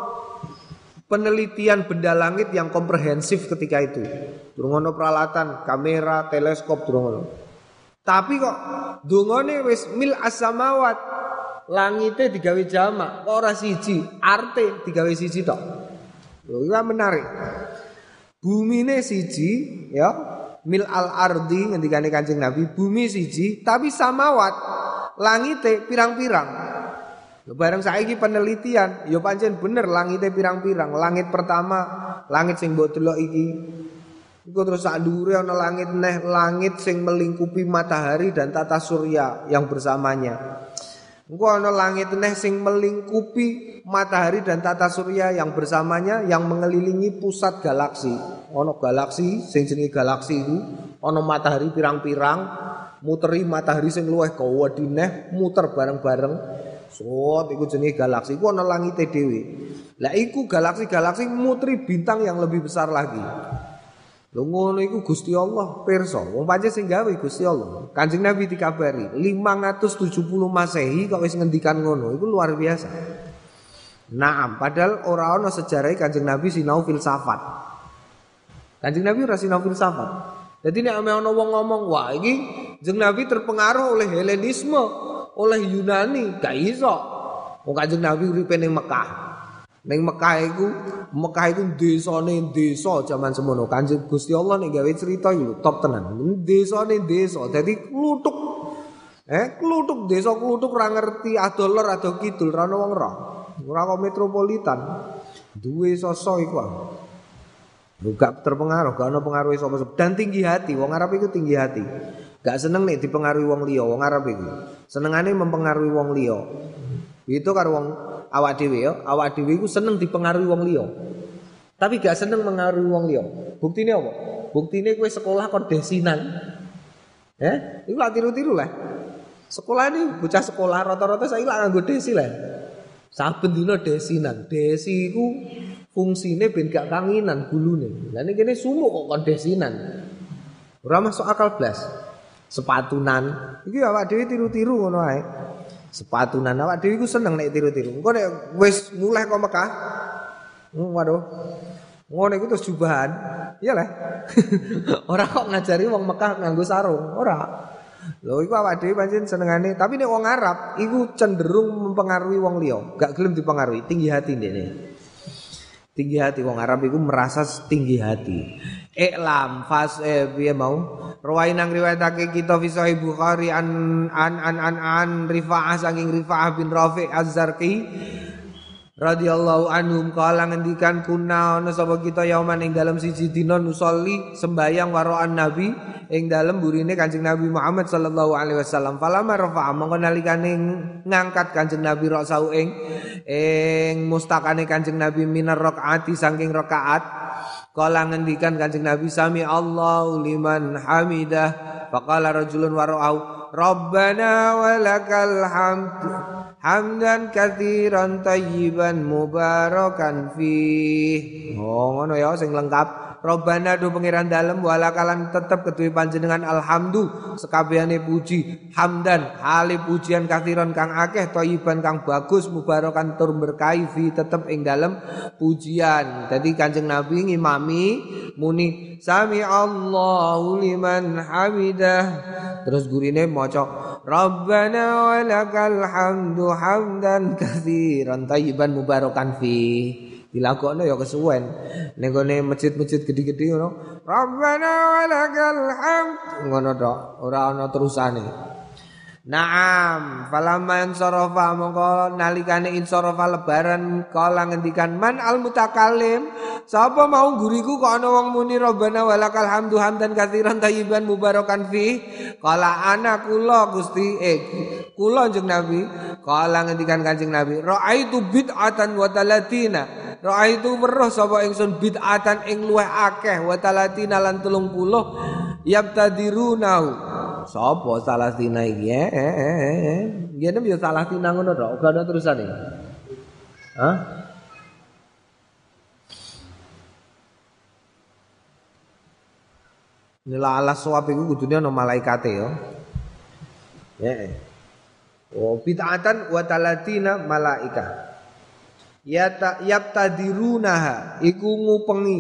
penelitian benda langit yang komprehensif ketika itu. Durung ono peralatan kamera, teleskop durung ono. Tapi kok dungane wis mil as-samawat. Langite digawe jamak, ora siji, arte digawe siji tok. Lho iki menarik. Bumine siji ya, mil al ardi ngendikane Kanjeng Nabi, bumi siji tapi samawat langite pirang-pirang. Lho bareng saiki penelitian, ya pancen bener langite pirang-pirang. Langit pertama, langit sing mbok delok iki. Iku terus sak dhuwure ana langit neh, langit sing melingkupi matahari dan tata surya yang bersamanya. Engko ana langit neh sing melingkupi matahari dan tata surya yang bersamanya yang mengelilingi pusat galaksi. Ana galaksi sing jenenge galaksi iku, ana matahari pirang-pirang, muteri matahari sing luwih gawedhe neh muter bareng-bareng. Sot iku jenenge galaksi. Iku ana langite dhewe. Lah iku galaksi-galaksi muteri bintang yang lebih besar lagi. Lho ngono iku Gusti Allah pirsa. Wong pancen sing gawe Gusti Allah. Kanjeng Nabi dikabari lima ratus tujuh puluh Masehi kok wis ngendikan ngono. Iku luar biasa. Naam, padahal ora ana sejarah Kanjeng Nabi sinau filsafat. Kanjeng Nabi ora sinau filsafat. Jadi nek ana wong ngomong, "Wah, iki Kanjeng Nabi terpengaruh oleh Helenisme, oleh Yunani." Gak iso. Wong Kanjeng Nabi uripe ning Mekah. Ning Mekah iku, Mekah iku desane desa jaman semono. Kanjeng Gusti Allah nek gawe cerita iku top tenan. Desane desa. Dadi kluthuk. Eh, kluthuk desa kluthuk ora ngerti ado lor ado kidul, ora ono wong roh. Ora kok metropolitan. Duwe sosok iku. Gak terpengaruh, gak ono pengaruh sapa-sapa. Dan tinggi hati, wong Arab iku tinggi hati. Gak seneng nek dipengaruhi wong liya, wong Arab iku. Senengane mempengaruhi wong liya. Itu karo wong awak dhewe ya, awak dhewe iku seneng dipengaruhi wong liya. Tapi gak seneng mengaruhi wong liya. Buktine apa? Buktine kowe sekolah kon desinan. Eh, iku lak tiru-tiru lah. Sekolah ini bocah sekolah rata-rata saiki lak nganggo desi lah. Saben dina desinan. Desi iku fungsine ben gak kanginan gulune. Lah nek kene sumuk kok kon desinan. Ora masuk akal blas. Sepatunan. Iki awak dhewe tiru-tiru ngono ae. Sepatunan awak dhewe iku seneng nek tiru-tiru. Engko nek wis mulai kok Mekah. Hmm, waduh. Ngono iku terus jubahan. Iyalah. Ora kok ngajari wong Mekah nganggo sarung, ora. Lho iku awak dhewe pancen senengane, tapi nek wong Arab iku cenderung mempengaruhi wong liya, gak gelem dipengaruhi, tinggi hati ndekne. Tinggi hati wong Arab iku merasa tinggi hati. Iklam fas eh piye mau? Rawain nang riwayatake kita fi Sahih Bukhari an an an an, an Rifa'ah saking Rifa'ah bin Rafi' Az-Zarqi radhiyallahu anhum kala ngendikan kuna ana sapa kita yauman ing dalem siji dina nusolli sembayang waroan nabi ing dalem burine Kanjeng Nabi Muhammad sallallahu alaihi wasallam falamma rafa'a mongko nalikane ngangkat Kanjeng Nabi rasau ing ing mustakane Kanjeng Nabi minar rakaati saking rakaat kala ngendikan Kanjeng Nabi sami Allahu liman hamidah faqala rajulun wara'au rabbana walakal hamd hamdan katsiran tayyiban mubarakan fih. Oh ngono ya sing lengkap. Rabbana do pangeran dalem walakalan tetep keduwe panjenengan alhamdu sekabehane puji hamdan hale pujian katsiran kang akeh tayyiban kang bagus mubarakan tur berkahi fi tetep ing dalem pujian. Dadi Kanjeng Nabi ngimami muni sami Allahu liman hamidah. Terus gurine maca Rabbana walakal hamdu hamdan katsiran tayyiban mubarakan fi. Dilakokno ya kesuwen. Ning gone masjid-masjid gedhi-gedhi ngono. Rabbana walakal hamd. Ngono tok, ora ana terusane. Naam, falamma insarafa mongko nalikane insarafa lebaran kala ngendikan man al mutakallim sapa mau guriku kok ana wong muni Rabbana walakal hamdu hamdan katsiran tayyiban mubarakan fi kala ana kula Gusti eh kula Kanjeng Nabi kala ngendikan Kanjeng Nabi raaitu bid'atan wa talatina raaitu weruh sapa ingsun bid'atan ing luweh akeh wa talatina lan telung puluh yabtadirunau sapa Salastina iki eh eh eh ngene yo Salastina ngono tok ora ana terusane. Hah? Nila alas suwab iku kudune ana malaikate yo. Heeh. Oh bid'atan wa talatina malaika. Ya ta yabtadirunaha iku ngupengi.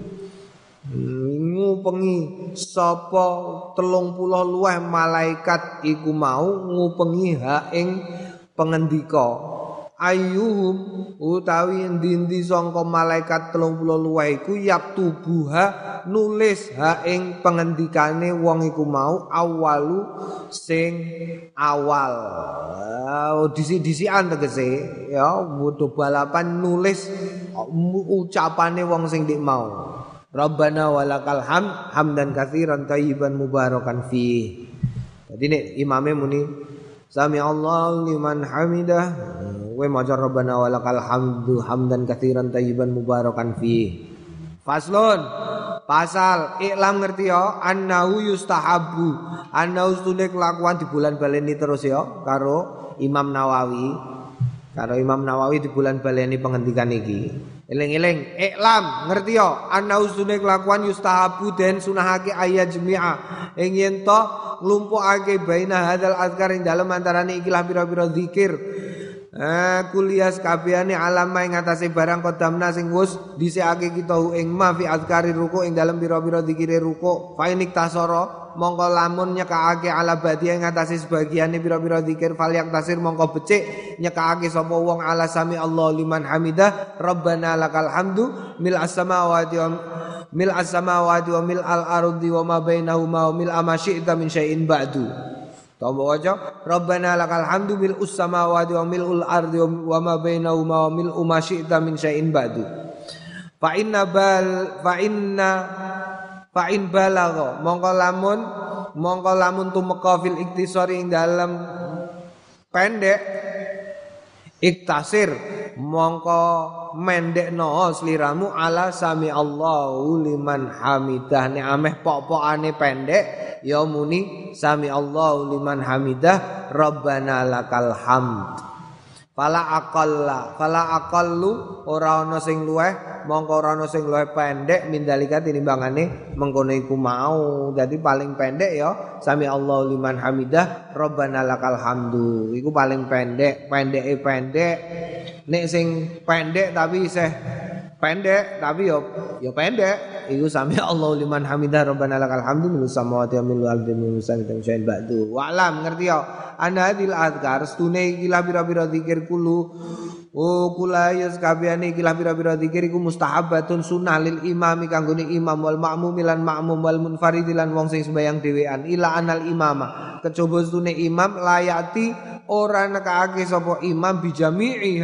Ngupengi sapa telung puluh luweh malaikat iku mau ngupengi ha ing pengendika ayyuhum utawi endi-endi sangka malaikat telung puluh luweh iku yaktubuha nulis ha ing pengendikane wong iku mau awalu sing awal oh, disi-disian tegese ya wudu balapan nulis ucapane wong sing dik mau Rabbana walakal hamd hamdan katsiran tayyiban mubarakan fi. Jadi nek imame muni sami Allahu liman hamidah we maca Rabbana walakal hamdu hamdan katsiran tayyiban mubarakan fi. Faslun pasal iklam ngerti ya annahu yustahabu annahu sunek kelakuan di bulan baleni terus ya karo Imam Nawawi karo Imam Nawawi di bulan baleni penghentikan iki. Eling-eling iklam ngerti yo ana usune kelakuan yustahabu den sunahake ayat jami'a ing yen to nglumpukake baina hadzal azkar ing dalem antarane ikilah pira-pira zikir eh kuliah kabehane alama ing atase barang kodamna sing wis dhisikake kita ing ma fi azkari ruku ing dalem pira-pira zikire ruku fa inik tasara mongko lamun nyekake ala badia ing atase sebagiane pira-pira zikir falyak tasir mongko becik nyekake sapa wong ala sami Allah liman hamidah Rabbana lakal hamdu mil as-samawati wa mil as-samawati wa mil al-ardi wa ma bainahuma wa mil ma syi'ta min syai'in ba'du. Tombo waca Rabbana lakal hamdu mil us-samawati wa mil al-ardi wa ma bainahuma wa mil ma syi'ta min syai'in ba'du. Fa inna bal fa inna fa in balagha mongko lamun mongko lamun tumeka fil iktisari ing dalem pendek iktasir mongko mendekno sliramu ala sami Allahu liman hamidah nek ameh pok-pokane pendek ya muni sami Allahu liman hamidah Rabbana lakal hamd fala aqalla fala aqallu ora ana sing luweh mongko ora ana sing luwih pendek mindalika tinimbangane mengkono iku mau. Dadi paling pendek ya sami Allahu liman hamidah Rabbana lakal hamdu. Iku paling pendek, pendeke pendek. Nek sing pendek tapi isih pendek tapi yo yo pendek iku sami Allahu liman hamidah Rabbana lakal hamdu min samawati wa min al-ardi min syai'in ba'du. Wa alam ngerti yo ana hadil azkar stune iki la pira-pira zikir kulu oh kula ya sakabehane iki la pira-pira zikir iku mustahabatun sunnah lil imami kanggone imam wal ma'mum lan ma'mum wal munfarid lan wong sing sembayang dhewean ila anal imama kejaba stune imam layati ora nekake sapa imam bijami'iha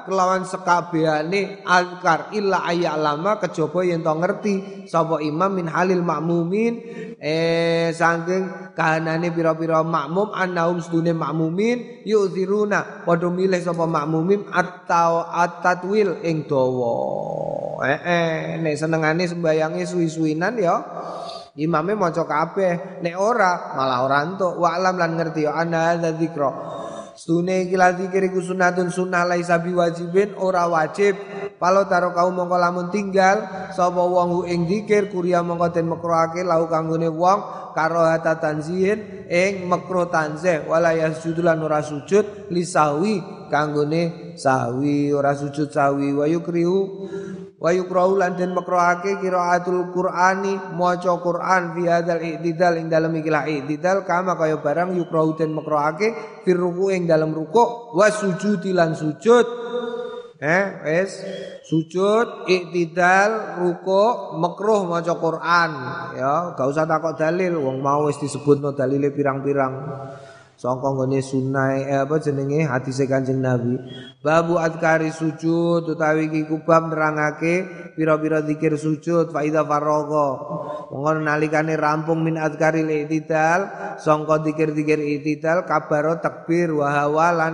kelawan sekabehane azkar illa ayyalama kejaba yen to ngerti sapa imam min halil makmumin eh saking kahanane pira-pira makmum annahum sedune makmumin yu'thiruna padha milih sapa makmumin atau atatwil ing dawa eh eh nek senengane sembayange suwi-suwinan ya imame maca kabeh nek ora malah ora entuk wa alam lan ngerti ya ana hadza dzikra Stune iki lan zikir iku sunatun sunnah laisa biwajibin ora wajib. Palo taro kaum mongko lamun tinggal sapa wong ing zikir kuria mongko den makruhake lau kanggone wong karohata tanzihin ing makruh tanzih wala yasjudu lan ora sujud lisawi kanggone sahwi ora sujud sahwi wa yukrihu wa yukrahu lan den makruhake qiraatul qur'ani maca Qur'an fi hadzal i'tidal ing dalem ikilah i'tidal kama kaya barang yukrahu den makruhake fir ruku' ing dalem rukuk wa sujudi lan sujud eh wis sujud i'tidal rukuk makruh maca Qur'an ya gak usah takok dalil wong mau wis disebutno dalile pirang-pirang sangka nggone sunah eh, apa jenenge hadis Kanjeng Nabi babu adkari sujud utawi iki kubab nerangake pira-pira zikir sujud fa idza faragha monggo nalikane rampung min adkaril i'tidal sangka zikir-zikir i'tidal kabaro takbir wa hawalan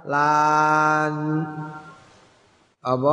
lan apa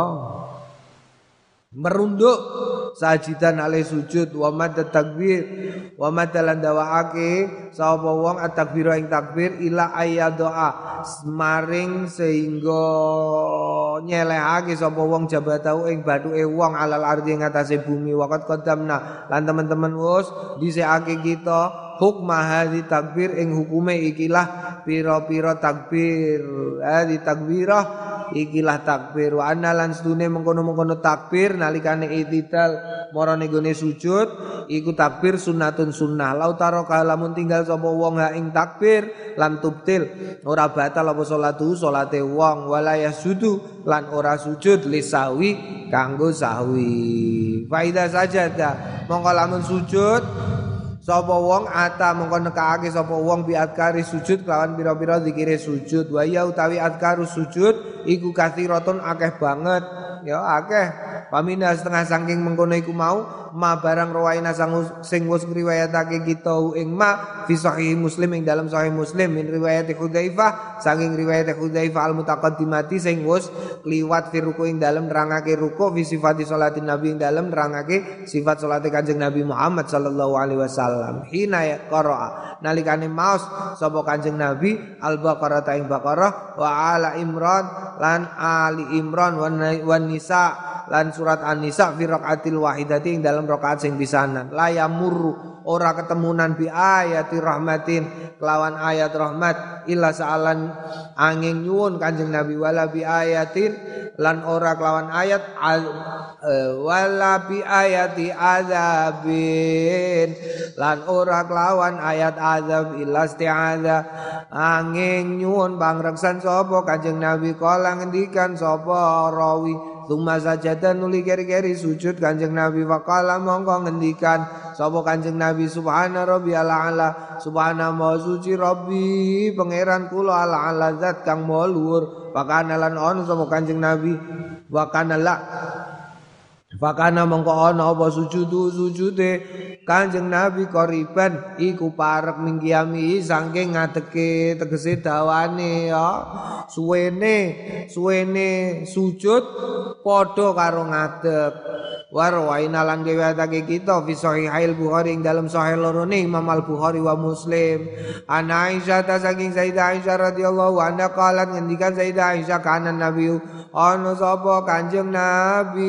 merunduk sajidan ale sujud wa mad takbir wa madalan dawaake sapa wong at-takbir ing takbir ila ayyadoa maring sehingga nyelehake sapa wong jabatau ing bathuke wong alal ardi ing atase bumi waqt qadamna lan teman-teman wis dhisikake kita hukma hadhi takbir ing hukume ikilah pira-pira takbir hadhi takbirah ikilah takbir wa anna lan sedune mengkono-mengkono takbir nalikane i'tidal marane gone sujud iku takbir sunnatun sunnah lautaro kalamun tinggal sapa wong ha ing takbir lam tubtil ora batal apa salatu salate wong wala yasudu lan ora sujud lisawi kanggo sahwi faida sajada mongko lamun sujud sapa wong ata mongko nekake sapa wong bi adkari sujud kelawan pira-pira zikire sujud wa ya utawi adkaru sujud iku kathiratun akeh banget ya akeh pamina setengah saking mengkono iku mau ma barang rawaina sing wis ngriwayatake kita ing ma fi sahih Muslim ing dalam sahih Muslim min riwayat Hudzaifah saking riwayat Hudzaifah al mutaqaddimati sing wis kliwat fi ruku ing dalam nerangake ruku fi sifati salatin nabi ing dalam nerangake sifat salate Kanjeng Nabi Muhammad sallallahu alaihi wasallam hina ya qara'a nalikane maos sapa Kanjeng Nabi al-Baqarah ta ing Baqarah wa ala Imran lan Ali Imran wan Nisa lan surat An-Nisa fi raqatil wahidati ing dalam rakaat sing pisanan la yamurru ora ketemunan bi ayati rahmatin kelawan ayat rahmat illa sa'alan angin nyuwun Kanjeng Nabi wala bi ayatin lan ora kelawan ayat uh, wala bi ayati azabin lan ora kelawan ayat azab illa isti'adza angin nyuwun pangreksan sapa Kanjeng Nabi kala ngendikan sapa rawi Tuma sajada nuli keri-keri sujud Kanjeng Nabi faqala mongko ngendikan sapa Kanjeng Nabi subhana rabbiyal a'la subhana maha suci rabbi pangeran kula ala ala zat kang maha luhur pakana lan ono sapa Kanjeng Nabi wa kana la fakana mongko ana apa sujudu sujude Kanjeng Nabi koriban iku parek mingkiami saking ngadeke tegese dawane ya suwene suwene sujud padha karo ngadeg warwaina lan riwayatake kita fi sahihail Bukhari ing dalam sahih lorone Imam Al-Bukhari wa Muslim ana Aisyah ta saking Sayyidah Aisyah radhiyallahu anha qalat ngendikan Sayyidah Aisyah kana Nabi ana sapa Kanjeng Nabi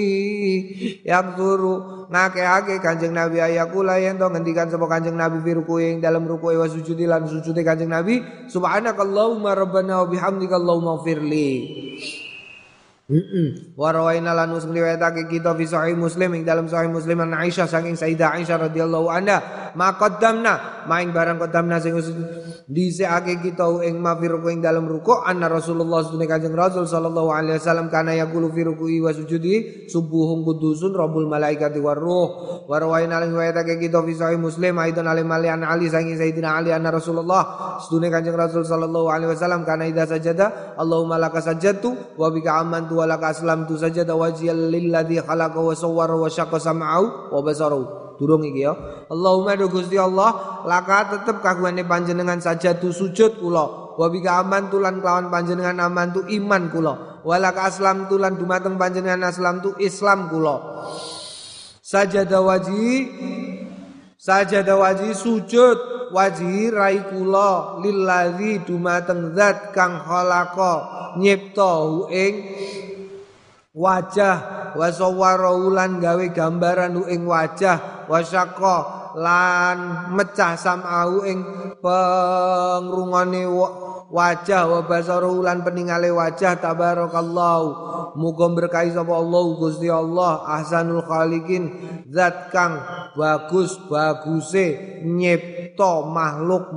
yang turu ngake-ake Kanjeng Nabi ayakula yen to ngendikan sapa Kanjeng Nabi fi ruku'i ing dalam ruku'i wa sujudi lan sujude Kanjeng Nabi subhanakallahumma rabbana wa bihamdika allahumma firli Heeh. Wa rawaina lan riwayatake kita fi sahih Muslim ing dalam sahih Muslim an Aisyah saking Sayyidah Aisyah radhiyallahu anha maqaddamna maing barang qaddamna sing dhisikake kita ing ma fi ruku' ing dalem ruku' anna Rasulullah sunne Kanjeng Rasul sallallahu alaihi wasallam kana yaqulu fi ruku'i wa sujudi subuhun qudusun rabbul malaikati war ruh wa rawaina lan riwayatake kita fi sahih Muslim aidan ali malian ali sangi sayyidina Ali anna Rasulullah sunne Kanjeng Rasul sallallahu alaihi wasallam kana idza sajada Allahumma laka sajadtu wa bika amantu wa laka aslamtu sajada wajhiyal lilladzi khalaqa wa sawwara wa syaqqa sam'au wa basarahu. Durung iki ya. Allahumma do Gusti Allah, laka tetep kagungane panjenengan sajadu sujud kula. Wa bika amantu lan kelawan panjenengan amantu iman kula. Wa laka aslamtu lan dumateng panjenengan aslamtu Islam kula. Sajada waji sajada waji sujud waji rai kula lilladzi dumateng zat kang khalaqa nyipta ing wajah wa sawwara lan gawe gambaran ing wajah wa syaqqa lan mecah sam'au ing pengrungane wajah wa basaru lan peningale wajah tabarakallahu muga berkahi sapa Allah Gusti Allah ahsanul khaliqin zat kang bagus baguse nyipta makhluk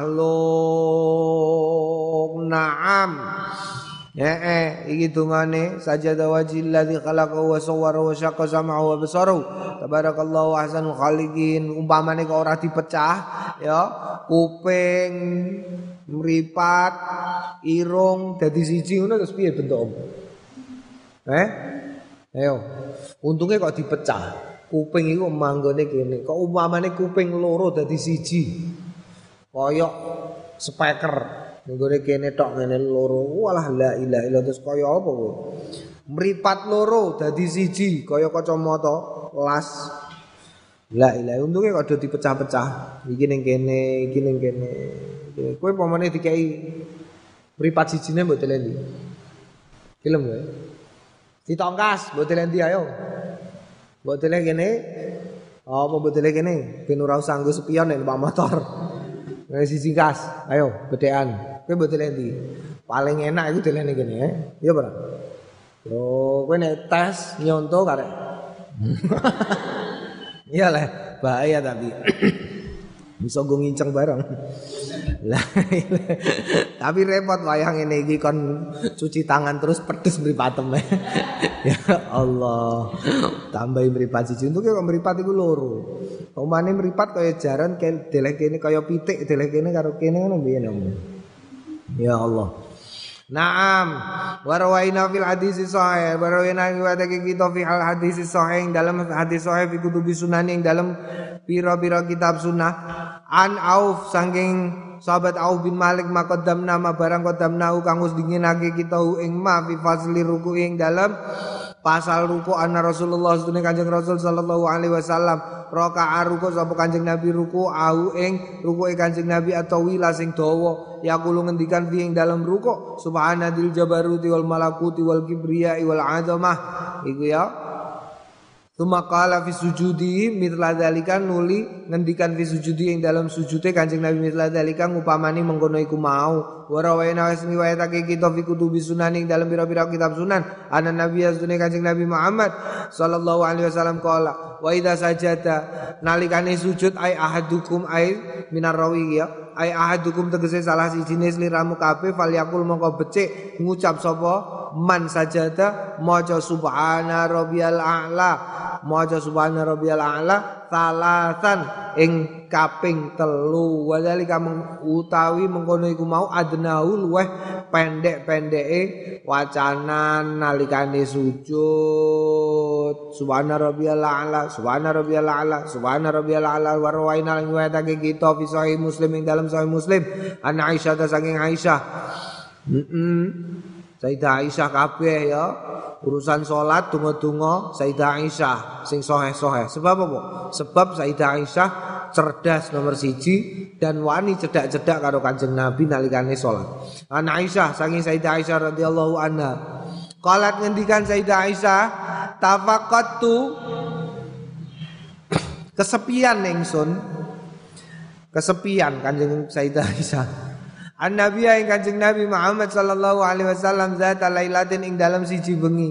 makhluk naam. Ya eh iki dungane sajada wajhil ladzi khalaqa wa sawwara wa syaqqa sam'ahu wa basarahu tabarakallahu ahsanul khaliqin umpamane kok ora dipecah ya kuping mripat irung dadi siji ngono terus piye bentuk eh ayo untunge kok dipecah kuping iku manggone kene kok umpamane kuping loro dadi siji koyok speaker nggone kene tok ngene loro walah la ilaha illallah terus kaya apa kowe mripat loro dadi siji kaya kacamata las la ilaha untunge kok do dipecah-pecah iki ning kene iki ning kene kowe pamane dikai mripat sijine mbok telendi film kowe ditongkas mbok telendi ayo mbok tele kene apa mbok tele kene ben ora usah nggo spion nek numpak motor nek siji gas ayo bedekan kowe mbok telendi paling enak iku delene kene ya iya ora yo kowe nek tes nyonto karek iya lah bahaya tapi bisa go nginceng bareng lah tapi repot wayang ngene iki kon cuci tangan terus pedes mripatem ya Allah tambahi mripat siji untuk kok mripat iku loro omane mripat kaya jaran kaya deleh kene kaya pitik deleh kene karo kene ngono piye ya Allah. Naam wa rawaina fil hadis sahih wa rawaina riwayatake kita fi al hadis sahih dalam hadis sahih fi kutubi sunan ing dalam pira-pira kitab sunnah an Auf saking sahabat Auf bin Malik maqaddam nama barang qaddamna kang wis dinginake kita ing ma fi fazli ruku ing dalam pasal ruku anna Rasulullah sedune Kanjeng Rasul sallallahu alaihi wasallam raka'a ruku sapa Kanjeng Nabi ruku au ing rukuke Kanjeng Nabi atau wila sing dawa yaqulu ngendikan fi ing dalam ruku subhanadil jabaruti wal malakuti wal kibriya wal azamah iku ya Tsumma qala fi sujudi mithla dzalika nuli ngendikan fi sujudi ing dalam sujude Kanjeng Nabi mithla dzalika ngupamani mengkono iku mau wa rawaina wasmi wayatake kita fi kutubi sunan ing dalam pira-pira kitab sunan ana nabi asune Kanjeng Nabi Muhammad sallallahu alaihi wasallam qala wa idza sajada nalikane sujud ai ahadukum ai minar rawi ya ai ahadukum tegese salah siji jenis liramu kabeh falyakul mongko becik ngucap sapa man sajada maca subhana rabbiyal a'la maca subhana rabbiyal a'la salasan ing kaping telu wadhalika utawi mengkono iku mau adnaul luweh pendek-pendeke wacanan nalikane sujud subhana rabbiyal a'la subhana rabbiyal a'la subhana rabbiyal a'la wa rawaina lan riwayatake kita fi sahih Muslim ing dalam sahih Muslim an Aisyah ta saking Aisyah heeh Sayyidah Aisyah kabeh ya urusan salat donga-donga Sayyidah Aisyah sing sahih-sahih sebab apa sebab Sayyidah Aisyah cerdas nomor siji dan wani cedak-cedak karo Kanjeng Nabi nalikane salat an Aisyah saking Sayyidah Aisyah radhiyallahu anha qalat ngendikan Sayyidah Aisyah tafaqattu kesepian ingsun kesepian Kanjeng Sayyidah Aisyah An-Nabi ing Kanjeng Nabi Muhammad sallallahu alaihi wasallam zata lailatin ing dalam siji bengi.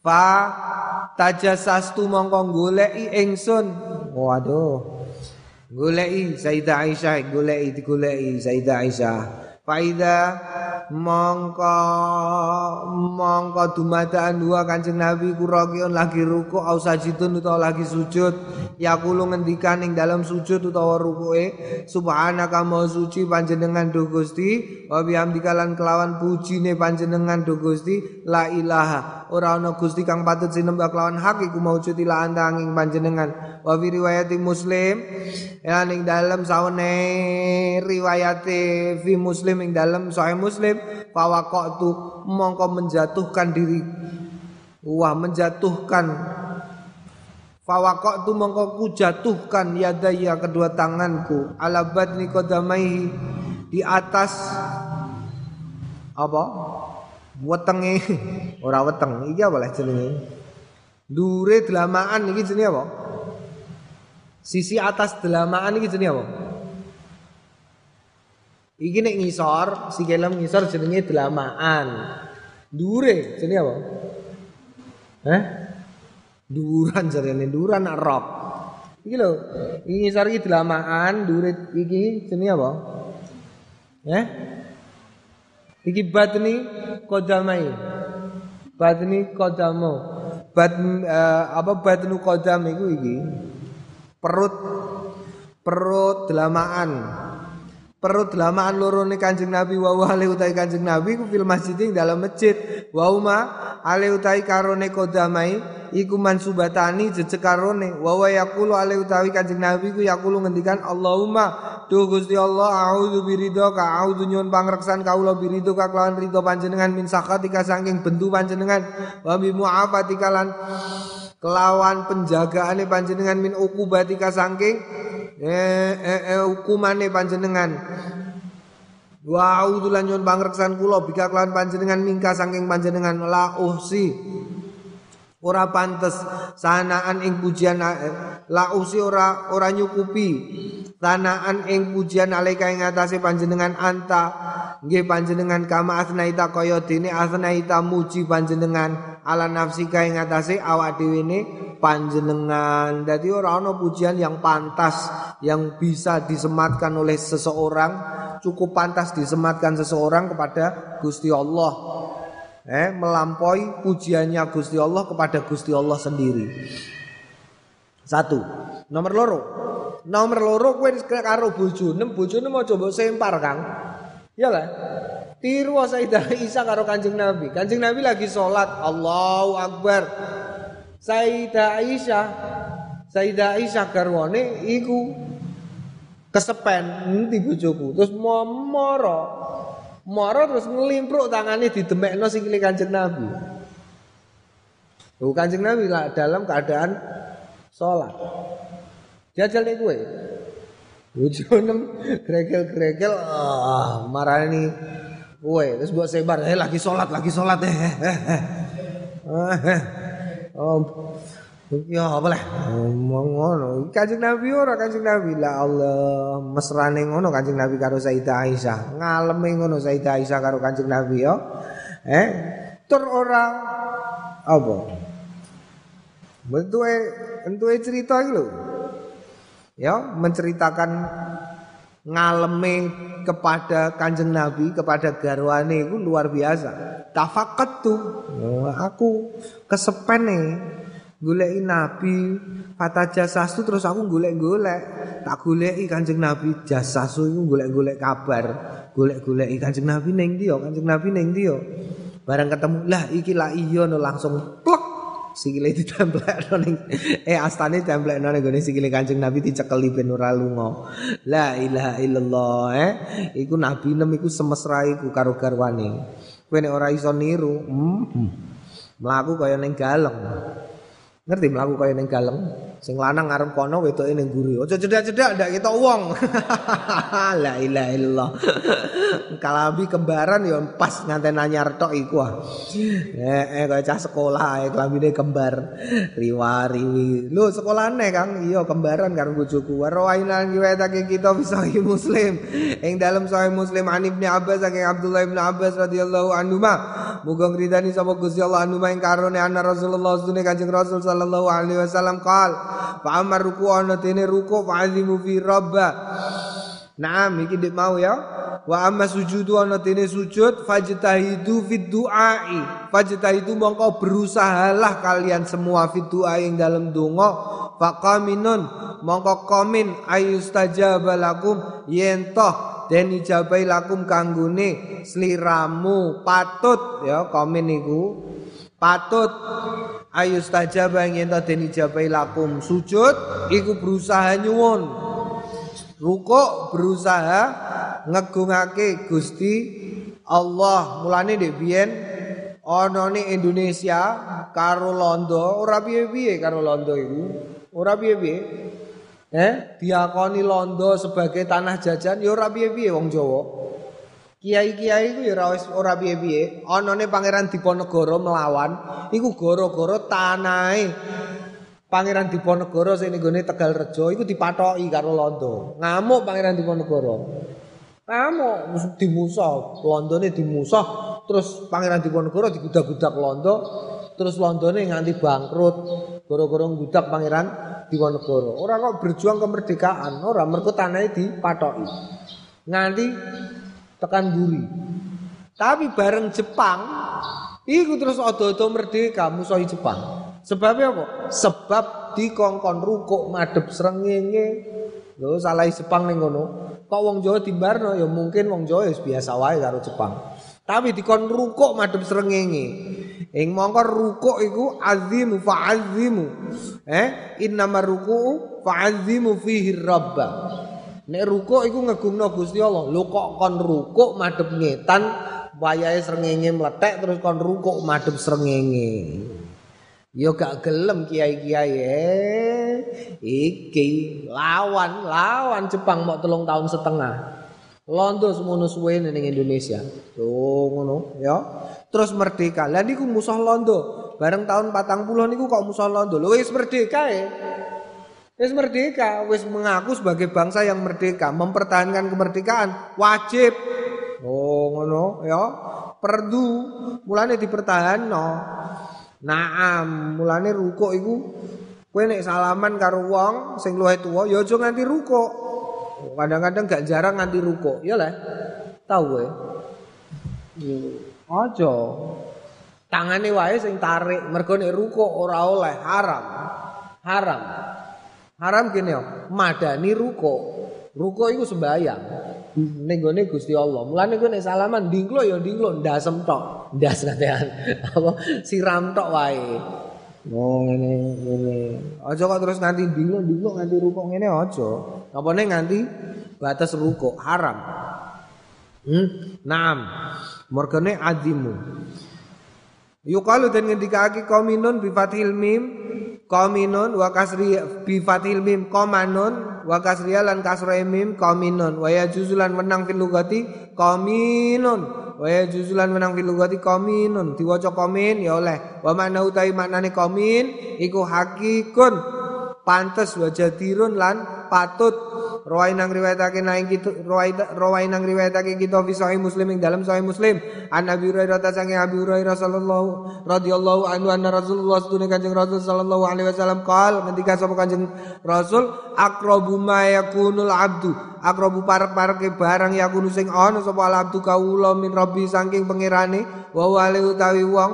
Fa tajassastu mongko goleki ingsun. Waduh. goleki Sayyidah Aisyah, goleki digoleki Sayyidah Aisyah. Faida mongko mongko dumadaan dua Kanjeng Nabi kurakiun lagi ruku au sajidun utawa lagi sujud yaqulu ngendikan ing dalam sujud utawa rukuke subhanaka maha suci panjenengan do Gusti wa bihamdika lan kelawan pujine panjenengan do Gusti la ilaha ora ana Gusti kang patut sinembah kelawan hak iku maujud ila antanging panjenengan wa fi riwayati Muslim ya ing dalam sawene riwayate fi Muslim ing dalam Sahih Muslim fawaqatu mongko menjatuhkan diri wah menjatuhkan fawaqatu mongko ku jatuhkan yadaya kedua tanganku ala badni qadamaihi di atas apa wetenge ora weteng iki apa lah jenenge dure delamaan iki jenenge apa sisi atas delamaan iki jenenge apa iki nek ngisor, sikilem ngisor jenenge delamaan. Dure jenenge apa? Hah? Duran jarene duran nak rok. Iki lho, iki ngisor iki delamaan, dure iki jenenge apa? Hah? Iki batni qadamai. Batni qadamo. Bat uh, apa batnu qadam iku iki? Perut perut delamaan. Perut delamaan lorone Kanjeng Nabi wa wa ale utai Kanjeng Nabi ku fil masjid ing dalam masjid wa uma ale utai karone kodamai iku mansubatani jejeg karone wa wa yaqulu ale utawi Kanjeng Nabi ku yaqulu ngendikan Allahumma duh Gusti Allah a'udzu biridhoka a'udzu nyuwun pangreksan kaula biridhoka kelawan ridho panjenengan min sakatika saking bendu panjenengan wa bi mu'afatika lan kelawan penjagaane panjenengan min uqubatika saking eh, eh, eh hukumane panjenengan wa a'udzu lan nyuwun pangreksan kula bika kelawan panjenengan mingka saking panjenengan la uhsi ora pantes sanaan ing pujian la uhsi ora ora nyukupi sanaan ing pujian alaika ing atase panjenengan anta nggih panjenengan kama asnaita kaya dene asnaita muji panjenengan ala nafsika ing atase awak dhewe ne panjenengan. Dadi ora ana pujian yang pantas yang bisa disematkan oleh seseorang, cukup pantas disematkan seseorang kepada Gusti Allah. Eh melampaui pujiannya Gusti Allah kepada Gusti Allah sendiri. Satu. Nomor loro. Nomor loro kowe karo bojone, bojone mau coba sempar, Kang. Iyalah. Tiru Sayyidah Aisyah karo Kanjeng Nabi. Kanjeng Nabi lagi sholat, Allahu Akbar. Sayyidah Aisyah, Sayyidah Aisyah garwane iku kesepen ngendi bojoku. Terus moro. Moro terus ngelimpruk tangane didemekno sikile Kanjeng Nabi. Lho Kanjeng Nabi lah dalam keadaan sholat. Jajal nek kowe. Bojone gregel-gregel ah marani kowe terus mbok sebar eh lagi sholat lagi sholat eh oh ya apa lah ngono Kanjeng Nabi ora Kanjeng Nabi la Allah mesrane ngono Kanjeng Nabi karo Sayyidah Aisyah ngaleme ngono Sayyidah Aisyah karo Kanjeng Nabi yo eh tur ora apa bentuke entuke cerita iki lho ya menceritakan ngaleme kepada Kanjeng Nabi kepada garwane itu luar biasa. Tafaqatu oh, aku kesepene goleki Nabi kata jasasu terus aku golek-golek tak goleki Kanjeng Nabi jasasu iku golek-golek kabar golek-goleki Kanjeng Nabi ning ndi yo Kanjeng Nabi ning ndi yo bareng ketemu lah iki lah iya no langsung plek sikile ditemplekno ning eh astane templekno ning gone sikile Kanjeng Nabi dicekeli ben ora lunga. La ilaha illallah eh iku Nabi nem iku semesra iku karo garwane. Kowe nek ora iso niru, hmm, mlaku kaya ning galeng. Ngerti mlaku kaya ning galeng? Sing lanang ngarep kono wedoke ning mburi. Aja cedak-cedak ndak ketok wong. La ilaha illallah. Kalabi kembaran ya pas nganten anyar tok iku ah. Eh eh kaya cah sekolah ae kelambine kembar. Riwari. Lho sekolahane Kang, iya kembaran karo bojoku. Rawaina riwayatake kita Sahih Muslim. Ing dalam Sahih Muslim an Ibnu Abbas saking Abdullah bin Abbas radhiyallahu anhu ma muga ngridani sapa Gusti Allah anu maing karone ana Rasulullah sunne Kanjeng Rasul sallallahu alaihi wasallam qal fa amar ruku ana dene ruku fa azimu fi rabba. Naam iki dik mau ya. Wa amma sujudu ana dene sujud fajtahidu fid du'ai. Fajtahidu mongko berusahalah kalian semua fid du'ai ing dalem donga faqaminun mongko komin ayustajaba lakum yen toh den ijabai lakum kanggone sliramu patut ya komin iku patut ayustajaba yen toh den ijabai lakum sujud iku berusaha nyuwun rukuk berusaha ngegungake Gusti Allah. Mulane ndek biyen ana ning Indonesia karo Londo ora piye-piye karo Londo iku. Ora piye-piye. Eh, diakoni Londo sebagai tanah jajan ya ora piye-piye wong Jawa. Kiai-kiai iku ya ora wis ora piye-piye. Anane Pangeran Diponegoro melawan iku gara-gara tanahe Pangeran Diponegoro sing nggone Tegalrejo iku dipathoki karo Londo. Ngamuk Pangeran Diponegoro. Ngamuk dimusah, Londone dimusah, terus Pangeran Diponegoro digudak-gudak Londo, terus Londone nganti bangkrut gara-gara ngudak Pangeran Diponegoro. Ora kok berjuang kemerdekaan, ora mergo tanahe dipathoki. Nganti tekan buri. Tapi bareng Jepang iku terus odo-odo merdeka musuhi Jepang. Sebabnya apa? Sebab dikongkon rukuk madhep srengenge. Lho salah Jepang ning ngono. Kok wong Jawa dimbarno ya mungkin wong Jawa wis biasa wae karo Jepang. Tapi dikon rukuk madhep srengenge. Ing mongko rukuk iku azimu fa'azimu. Eh, innamar ruku'u fa'azimu fihi rabba. Nek rukuk iku ngegungno Gusti Allah. Lho kok kon rukuk madhep ngetan wayahe srengenge mlethek terus kon rukuk madhep srengenge. Yo gak gelem kiai-kiai eh iki lawan lawan Jepang mok telung tahun setengah. Londo semono suwe ning Indonesia. Tuh ngono ya. Terus merdeka. Lah niku musuh Londo. Bareng tahun patang puluh niku kok musuh Londo. Lho wis merdeka e. Wis merdeka, wis mengaku sebagai bangsa yang merdeka, mempertahankan kemerdekaan wajib. Oh ngono ya. Perdu mulane dipertahanno. Naam, mulane rukuk iku kowe nek salaman karo wong sing luwih tuwa ya aja nganti rukuk. Kadang-kadang gak jarang nganti rukuk, ya lah. Tahu kowe? Aja. Tangane wae sing tarik, mergo nek rukuk ora oleh, haram. Haram. Haram kene yo, madani rukuk. Rukuk iku sembayang. Ning gone Gusti Allah. Mulane kowe nek salaman dingklo ya dingklo ndasem tok. Ndas katean. Apa siram tok wae. Oh ngene ngene. Aja kok terus nganti dingklo-dingklo nganti rukuk ngene aja. Apane nganti batas rukuk haram. Hmm? Naam. Mergane azimu. Yuqalu dan ngendikake qaminun bi fathil mim qaminun wa kasri bi fathil mim qamanun wa kasriya lan kasra mim qaminun wa yajuzulan menang fil lugati qaminun wa yajuzulan menang fil lugati qaminun diwaca qamin ya oleh wa makna utawi maknane qamin iku hakikun pantes wa jadirun lan patut Rawai nang riwayatake nang kita rawai nang riwayatake kita fi sahih Muslim ing dalam sahih Muslim an Abi Hurairah ta sange Abi Hurairah sallallahu radhiyallahu anhu anna Rasulullah sedune Kanjeng Rasul sallallahu alaihi wasallam qaal ngendika sapa Kanjeng Rasul aqrabu ma yakunul abdu aqrabu parek-pareke barang yakunu sing ana sapa al abdu kawula min rabbi saking pangerane wa wali utawi wong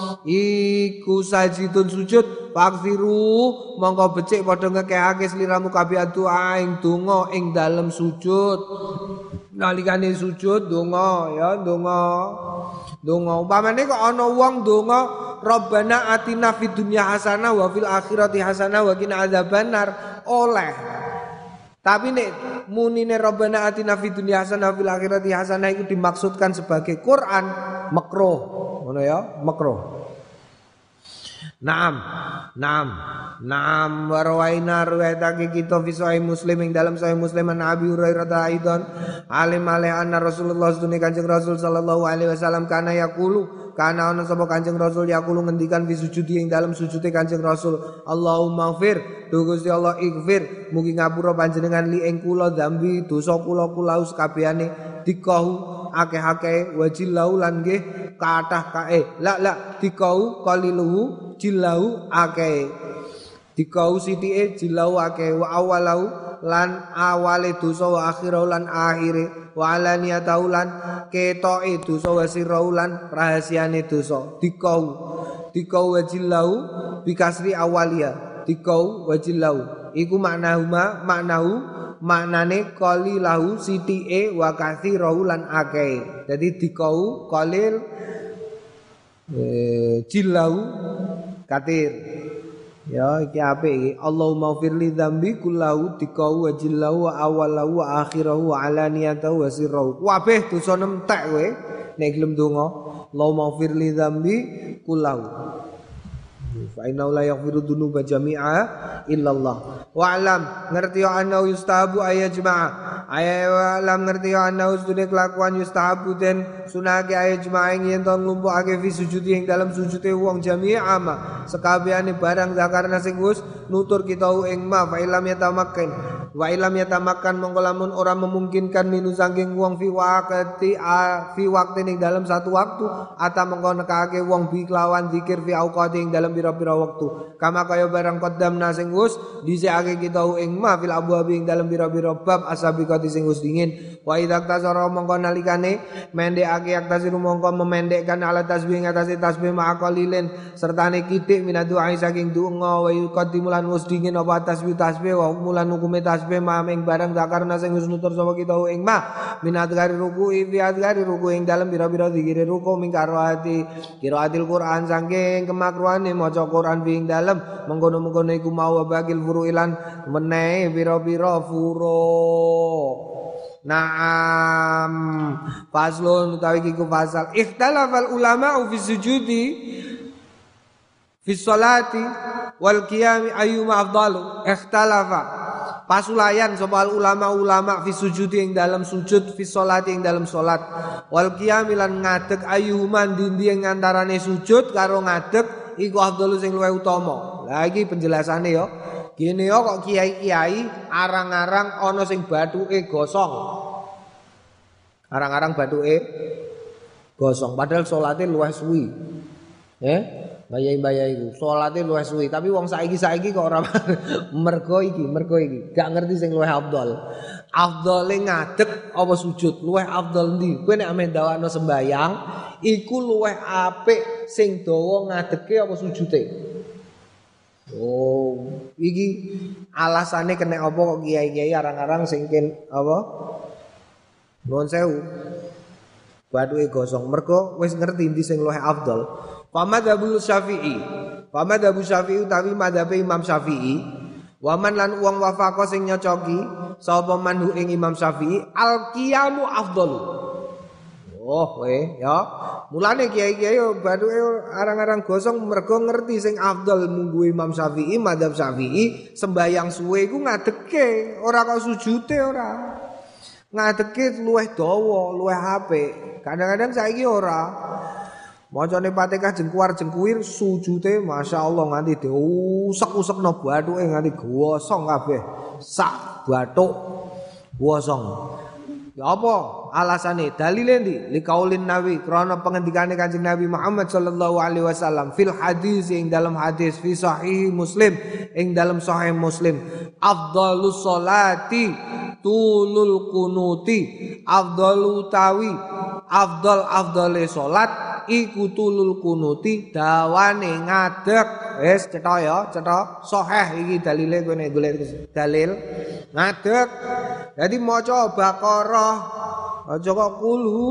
iku sajidun sujud faksiru mongko becik padha ngekehake sliramu kabeh doa ing donga ing dalem sujud nalikane sujud donga ya donga donga umpamane kok ana wong donga Rabbana atina fid dunya hasanah wa fil akhirati hasanah wa qina adzabannar oleh tapi nek munine Rabbana atina fid dunya hasanah wa fil akhirati hasanah itu dimaksudkan sebagai Quran makruh ngono ya makruh. Naam, naam, naam warwaina riwayatake kita fi sahih Muslim ing dalam sahih Muslim an Abi Hurairah aidan alim alih anna Rasulullah sunni Kanjeng Rasul sallallahu alaihi wasallam kana yaqulu kana ana sapa Kanjeng Rasul yaqulu ngendikan fi sujudi ing dalam sujude Kanjeng Rasul Allahumma ighfir du Gusti Allah ighfir mugi ngapura panjenengan li ing kula dzambi dosa kula kula sakabehane dikahu akeh-akeh wa jillahu lan nggih kathah kae la la dikau qaliluhu jillahu akeh dikau sithike jillahu akeh wa awalau lan awale dosa wa akhirau lan akhire wa alaniyatau lan ketoke dosa wa sirrau lan rahasiane dosa dikau dikau wa jillahu bikasri awalia dikau wa jillahu iku maknahuma maknahu maknane qalilahu sithike wa katsirahu lan akeh dadi dikau qalil eh, jillahu katir ya iki apik iki Allahumma firli dzambi kullahu dikau wa jillahu wa awalahu wa akhirahu wa alaniyatahu wa sirrahu kabeh dosa entek kowe nek gelem donga Allahumma firli dzambi kullahu fa inna la yaghfiru dzunuba jami'a illallah wa alam ngerti ana yustahabu ayajma'a alam ngerti ana usune kelakuan yustahabu den sunake ayajma'a yen to nglumpukake fi sujudi ing dalam sujude wong jami'a ma sekabehane barang zakarna sing wis nutur kita ing ma fa ilam yatamakkan wa ilam yatamakkan mongko lamun ora memungkinkan minu saking wong fi waqti fi waqti ing dalam satu waktu ata mongko nekake wong bi kelawan zikir fi auqati ing dalam pira-pira waktu kama kaya barang qaddamna sing wis dhisikake kita ing ma fil abwab ing dalam pira-pira bab asabiqati sing wis dingin wa idza tasara mongko nalikane mendekake aktasiru mongko memendekkan ala tasbih ngatasi tasbih ma'aqalilin sertane kitik minadu ai saking donga wa yuqaddimulan wis dingin apa tasbih tasbih wa mulan hukume tasbih ma ing barang zakarna sing wis nutur sapa kita ing ma minat gari ruku'i fi adgari ruku' ing dalam pira-pira zikir ruku' ming qiraati qiraatil Qur'an saking kemakruhane maca Quran fi ing dalam mengkono-mengkono iku mau bagil furu'ilan menehi pira-pira furu' Naam faslun utawi iku fasal ikhtalafal ulama fi sujudi fi sholati wal qiyam ayyuma afdalu ikhtalafa pasulayan sapa ulama-ulama fi sujudi ing dalam sujud fi sholati ing dalam salat wal qiyam lan ngadeg ayyuma ndi ing antarane sujud karo ngadeg iku afdalu sing luwih utama lha iki penjelasane ya gini yo kok kiai-kiai arang-arang ana sing bathuke gosong. Arang-arang bathuke gosong padahal salate luwih suwi. Eh, bayai-bayai iku salate luwih suwi, tapi wong saiki-saiki kok ora mergo iki, mergo iki. Gak ngerti sing luwih afdal. Afdale ngadeg apa sujud? Luwih afdal ndi? Kowe nek ame ndawakno sembayang, iku luwih apik sing dawa ngadege apa sujude? Oh, iki alasane kena apa kok kiai-kiai arang-arang sing ken apa? Nuwun sewu. Bathuke gosong mergo wis ngerti ndi sing luwih afdal. Fa madzhabul Syafi'i. Fa madzhabu Syafi'i utawi madzhabe Imam Syafi'i. Wa man lan wong wafaqa sing nyocoki sapa manhu ing Imam Syafi'i al-qiyamu afdalu. Oh, we ya. Mulane kiai-kiai bathuke arang-arang gosong mergo ngerti sing afdal munggu Imam Syafi'i, madzhab Syafi'i, sembayang suwe iku ngadeke, ora kok sujude ora. Ngadeke luwih dawa, luwih apik. Kadang-kadang saiki ora. Macane Fatihah jengkuar-jengkuir sujude masyaallah nganti diusek-usekno bathuke nganti gosong kabeh. Sak bathuk gosong. Ya apa alasane dalile ndi liqaulin nabi krana pengendikane Kanjeng Nabi Muhammad sallallahu alaihi wasallam fil hadis ing dalam hadis fi sahih Muslim ing dalam sahih Muslim afdhalus sholati tulul kunuti afdalu tawi afdal afdale salat iku tulul kunuti dawane ngadeg wis cetha ya cetha sahih iki dalile kowe nek golek dalil ngadeg dadi maca Baqarah aja kok kulu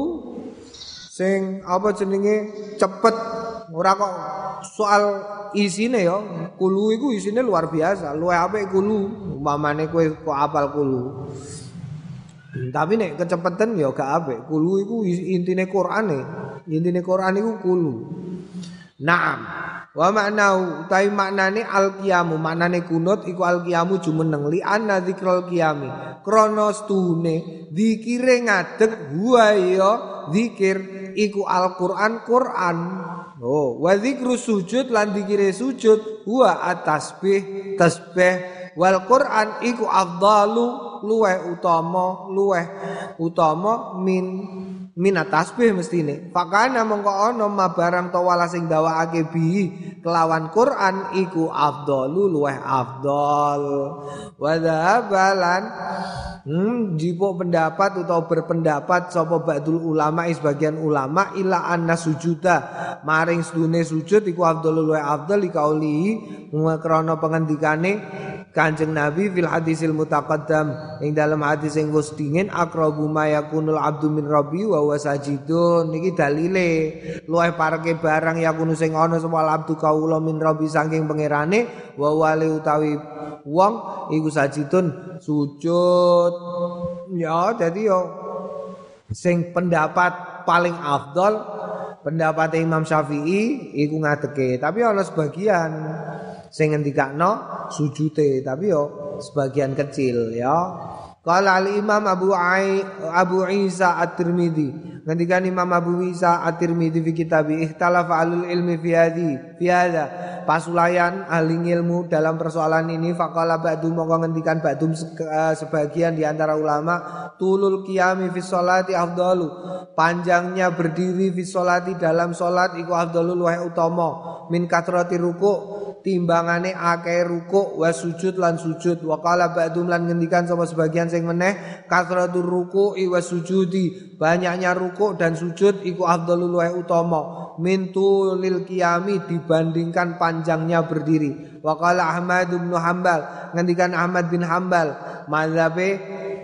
sing apa jenenge cepet ora kok soal isine ya kulu iku isine luar biasa luwih apik kulu umpamane kowe kok apal kulu tapi nek kecepeten ya gak apik kulu iku intine Qur'ane intine Qur'an iku kulu naam wa maknau utai maknane al-qiyamu maknane kunut iku al-qiyamu jumeneng li anna dzikrul qiyami krana stune zikire ngadeg huwa ya zikir iku Al-Qur'an Qur'an oh wa zikru sujud lan zikire sujud huwa at-tasbih tasbih wal Qur'an iku afdalu luweh utama luweh utama min minat tasbih mestine. Fakana mongko ana ma barang to wala sing dawakake bi kelawan Quran iku afdalu luweh afdal. Wa dhabalan hmm, jipuk pendapat atau berpendapat sapa ba'dul ulama sebagian ulama ila anna sujuda maring sedune sujud iku afdalu luweh afdal ikauli krana pengendikane Kanjeng Nabi fil hadisil mutaqaddam ing dalam hadis sing wis dingin aqrabu ma yakunul abdu min rabbi wa huwa sajidun niki dalile luwih pareke barang yakunu sing ana sapa abdu kaula min rabbi saking pangerane wa wali utawi wong iku sajidun sujud ya dadi yo sing pendapat paling afdal pendapat Imam Syafi'i iku ngadeke tapi ana sebagian sing ngendikakno sujute tapi yo sebagian kecil ya. Qala al-Imam Abu Ai Abu Isa At-Tirmidzi ngendikan Imam Abu Isa At-Tirmidzi fi kitab Ikhtalafa alul ilmi fi hadhi fi hadha pasulayan ahli ilmu dalam persoalan ini faqala ba'du mongko ngendikan ba'dum sebagian di antara ulama tulul qiyami fi sholati afdalu panjangnya berdiri fi sholati dalam salat iku afdalu luwih utama min katrati ruku' timbangane akeh ruku' wa sujud lan sujud wa qala ba'dum lan ngendikan sapa sebagian sing meneh kasratur ruku'i wa sujudi banyaknya ruku' dan sujud iku afdalul luwih utama min tulil qiyami dibandingkan panjangnya berdiri wa qala Ahmad bin Hanbal ngendikan Ahmad bin Hanbal mazhabe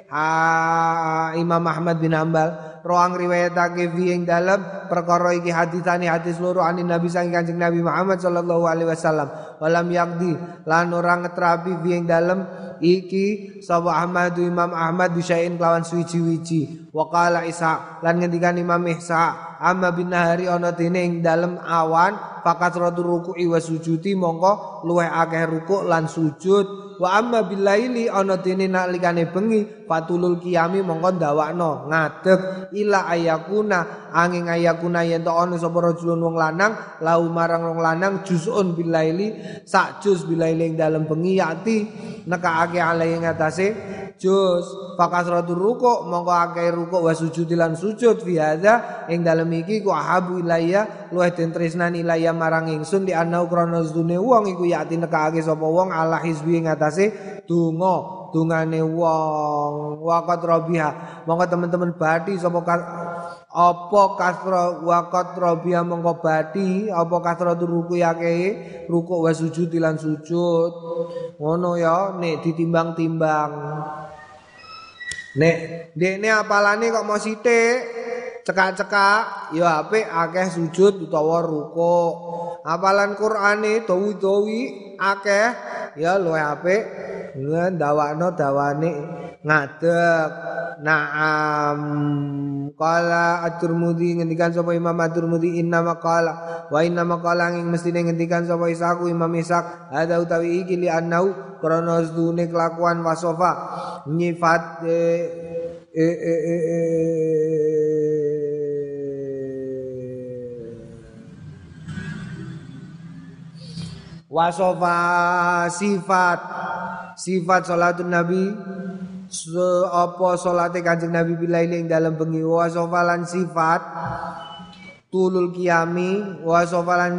Imam Ahmad bin Hanbal roang riwayatake fi ing dalem perkara iki haditsane hadis loro anin Nabi saking Kanjeng Nabi Muhammad sallallahu alaihi wasallam walam yakdi lan ora ngetrapi fi ing dalem iki sapa Ahmad Imam Ahmad bisain kelawan suwi-wiji wa qala Isa lan ngendikan Imam Isa amma bin nahari ana dene ing dalem awan fakat ratu ruku'i wa sujudi mongko luweh akeh rukuk lan sujud wa amma billaili ana dene nalikane bengi fatulul qiyami mongko ndawakno ngadeg ila ayakuna angin ayakuna yen to ana sapa rajulun wong lanang lau marang wong lanang juzun billaili sak juz billaili ing dalem bengi yati nekake alai ngatasé juz fakasratur ruku' mongko akeh rukuk wa sujud lan sujud fi hadza ing dalem iki ku ahabu ilayya luwih den tresnani ilayya marang ingsun di ana krana sedune wong iku yati nekake sapa wong ala hizbi ngatasé donga dungane wong waqat rabiha mongko teman-teman badi sapa apa kasra waqat rabiha mongko badi apa kasratur ruku yake rukuk wa sujud lan sujud ngono ya nek ditimbang-timbang nek dekne apalane kok mau sithik cekak-cekak ya apik akeh sujud utawa rukuk apalan Qur'ane dawi-dawi akeh ya luwih apik ndawakno dawane ngadeg na'am qala at-Tirmidzi ngendikan sapa Imam at-Tirmidzi inna maqala wa inna maqala ing mestine ngendikan sapa Isaku Imam Ishaq ada utawi iki li annau krana sedune kelakuan wasofa nyifat e e e, e, e wasofa sifat sifat salatun nabi apa salate Kanjeng Nabi bilaili ing dalem bengi wasofa lan sifat tulul qiyami wasofa lan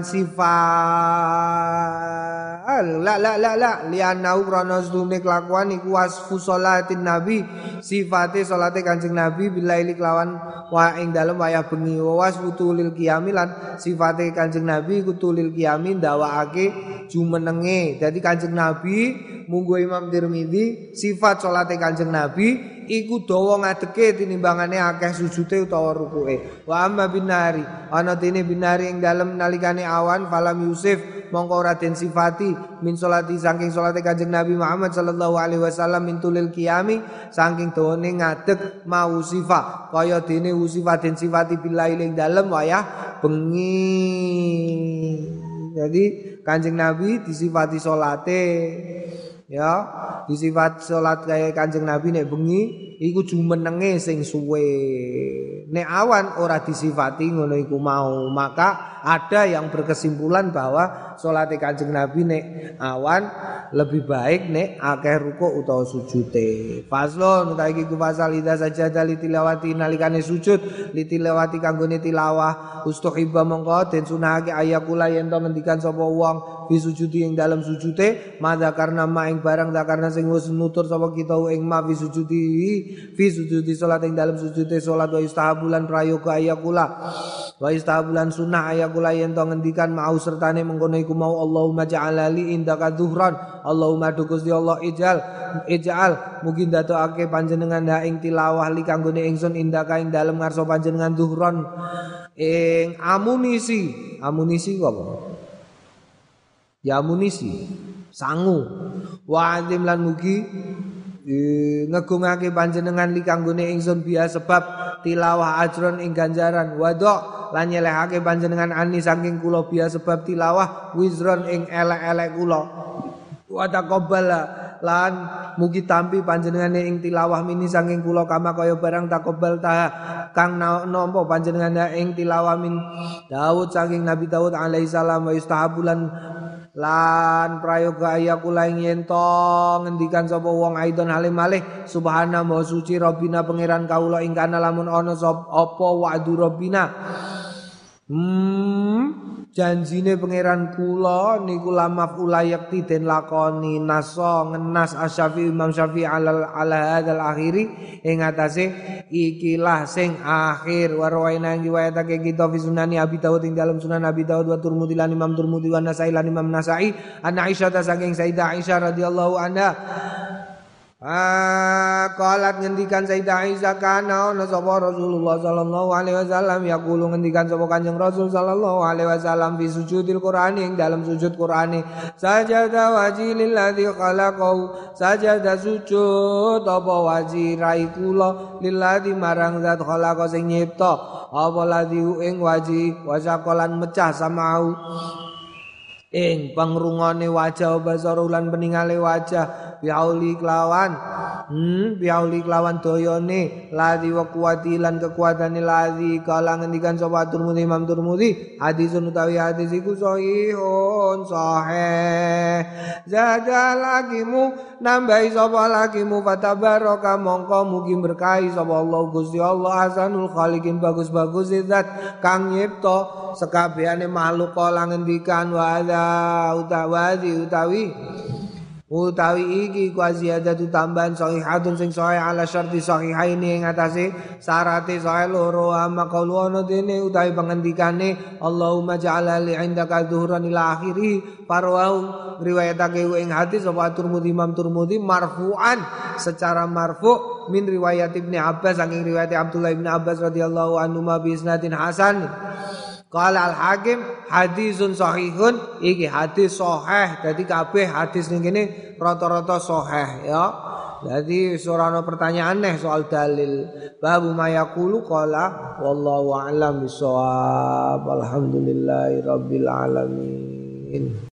sifat la la la la lianau krana sedune kelakuan iku wasfu salatin nabi sifate salate Kanjeng Nabi bilaili kelawan wa ing dalem wayah bengi wasfu tulil qiyami lan sifate Kanjeng Nabi iku tulil qiyami ndawakake jumenenge dadi Kanjeng Nabi munggo Imam Tirmidzi sifat salate Kanjeng Nabi iku dawa ngadeke tinimbangane akeh sujude utawa rukuke wa amma binari ana dene binari ing dalem nalikane awan falam yusuf mongko ora den sifati min salati saking salate Kanjeng Nabi Muhammad sallallahu alaihi wasallam min tulil qiyami saking dawane ngadeg mau sifat kaya dene usifat den sifati billahi ing dalem wayah bengi jadi Kanjeng Nabi disifati salate ya disifat salat kaya Kanjeng Nabi nek bengi iku jumenenge sing suwe. Nek awan ora disifati ngono iku mau, maka ada yang berkesimpulan bahwa salat Kanjeng Nabi nek awan lebih baik nek akeh rukuk utawa sujute. Faslon utawa iki ku pasal ida sajada li tilawati nalikane sujud li tilawati kanggone tilawah ustuhiba mongko den sunahake ayakula yen to ngendikan sapa wong fi sujudi ing dalam sujute madza karena ma ing barang da karena sing wis nutur sapa kita ing ma fi sujudi fi sujudi salat ing dalam sujute salat wa istahabulan prayoga ayakula wa istahabulan sunah ayakula yen to ngendikan mau sertane mengkono iku mau Allahumma ja'alali indaka dhuhran Allahumma dukus di Allah ijal ijal mungkin dadekake panjenengan ha ing tilawah li kanggone ingsun indaka ing dalem ngarsa panjenengan dhuhran ing amunisi amunisi apa ya amunisi sangu wa azim lan mugi ngegungake panjenengan li kanggone ingsun biya sebab tilawah ajron ing ganjaran wadok lan nyelehake panjenengan ani saking kula biya sebab tilawah wizron ing elek-elek kula wa taqabbala lan mugi tampi panjenengane ing tilawah mini saking kula kama kaya barang taqabbal ta kang nampa panjenengane ing tilawah min Daud saking Nabi Daud alaihi salam wa istahabulan lan prayoga ayakula ing yen to ngendikan sapa wong aidon halim malih subhana wa suci rabbina pangeran kaula ing kana lamun ana apa wa'du rabbina hmm janjine pangeran kula niku lamaf ulayakti den lakoni naso ngenas asy-Syafi'i Imam Syafi'i ala ala hadzal akhiri ing atase ikilah sing akhir warwaina ing riwayatake kita fi sunani Abi Dawud ing dalam sunan Abi Dawud wa Tirmidzi lan Imam Tirmidzi wa Nasa'i lan Imam Nasa'i an Aisyah ta saking Sayyidah Aisyah radhiyallahu anha Ah, qalat ngendikan Sayyidah Aisyah kana ana sapa Rasulullah sallallahu alaihi wasallam yaqulu ngendikan sapa Kanjeng Rasul sallallahu alaihi wasallam fi sujudil Qur'ani ing dalam sujud Qur'ani sajada wajhil ladzi khalaqahu sajada sujud apa wajhi rai kula lilladzi marang zat khalaqa sing nyipta apa ladzi ing wajhi wasaqalan mecah samau ing pangrungane wajah basarulan peningale wajah biauli kelawan hmm biauli kelawan doyone ladzi wa kuwati lan kekuatane ladzi kala ngendikan sapa Tirmidzi Imam Tirmidzi hadisun utawi hadis iku sahihun sahih zada lagimu nambahi sapa lagimu fatabaraka mongko mugi berkahi sapa Allah Gusti Allah hasanul khaliqin bagus-bagus zat kang nyipta sekabehane makhluk kala ngendikan wa utawi utawi utawi iki ku ziyadatu tambahan sahihatun sing sahih ala syarti sahihaini ing atase syarate sahih loro ama qaulu ana dene utawi pangendikane Allahumma ja'ala li indaka dhuhran ila akhirih farwau riwayatake ing hadis sapa Tirmidzi Imam Tirmidzi marfu'an secara marfu' min riwayat Ibnu Abbas saking riwayat Abdullah bin Abbas radhiyallahu anhu ma bi isnadin hasan. Qala al-Hakim hadisun sahihun iki hadis sahih dadi kabeh hadis ning kene rata-rata sahih ya. Dadi ora ana pertanyaan neh soal dalil. Babu mayaqulu qala wallahu a'lam bissawab. Alhamdulillahirabbil alamin.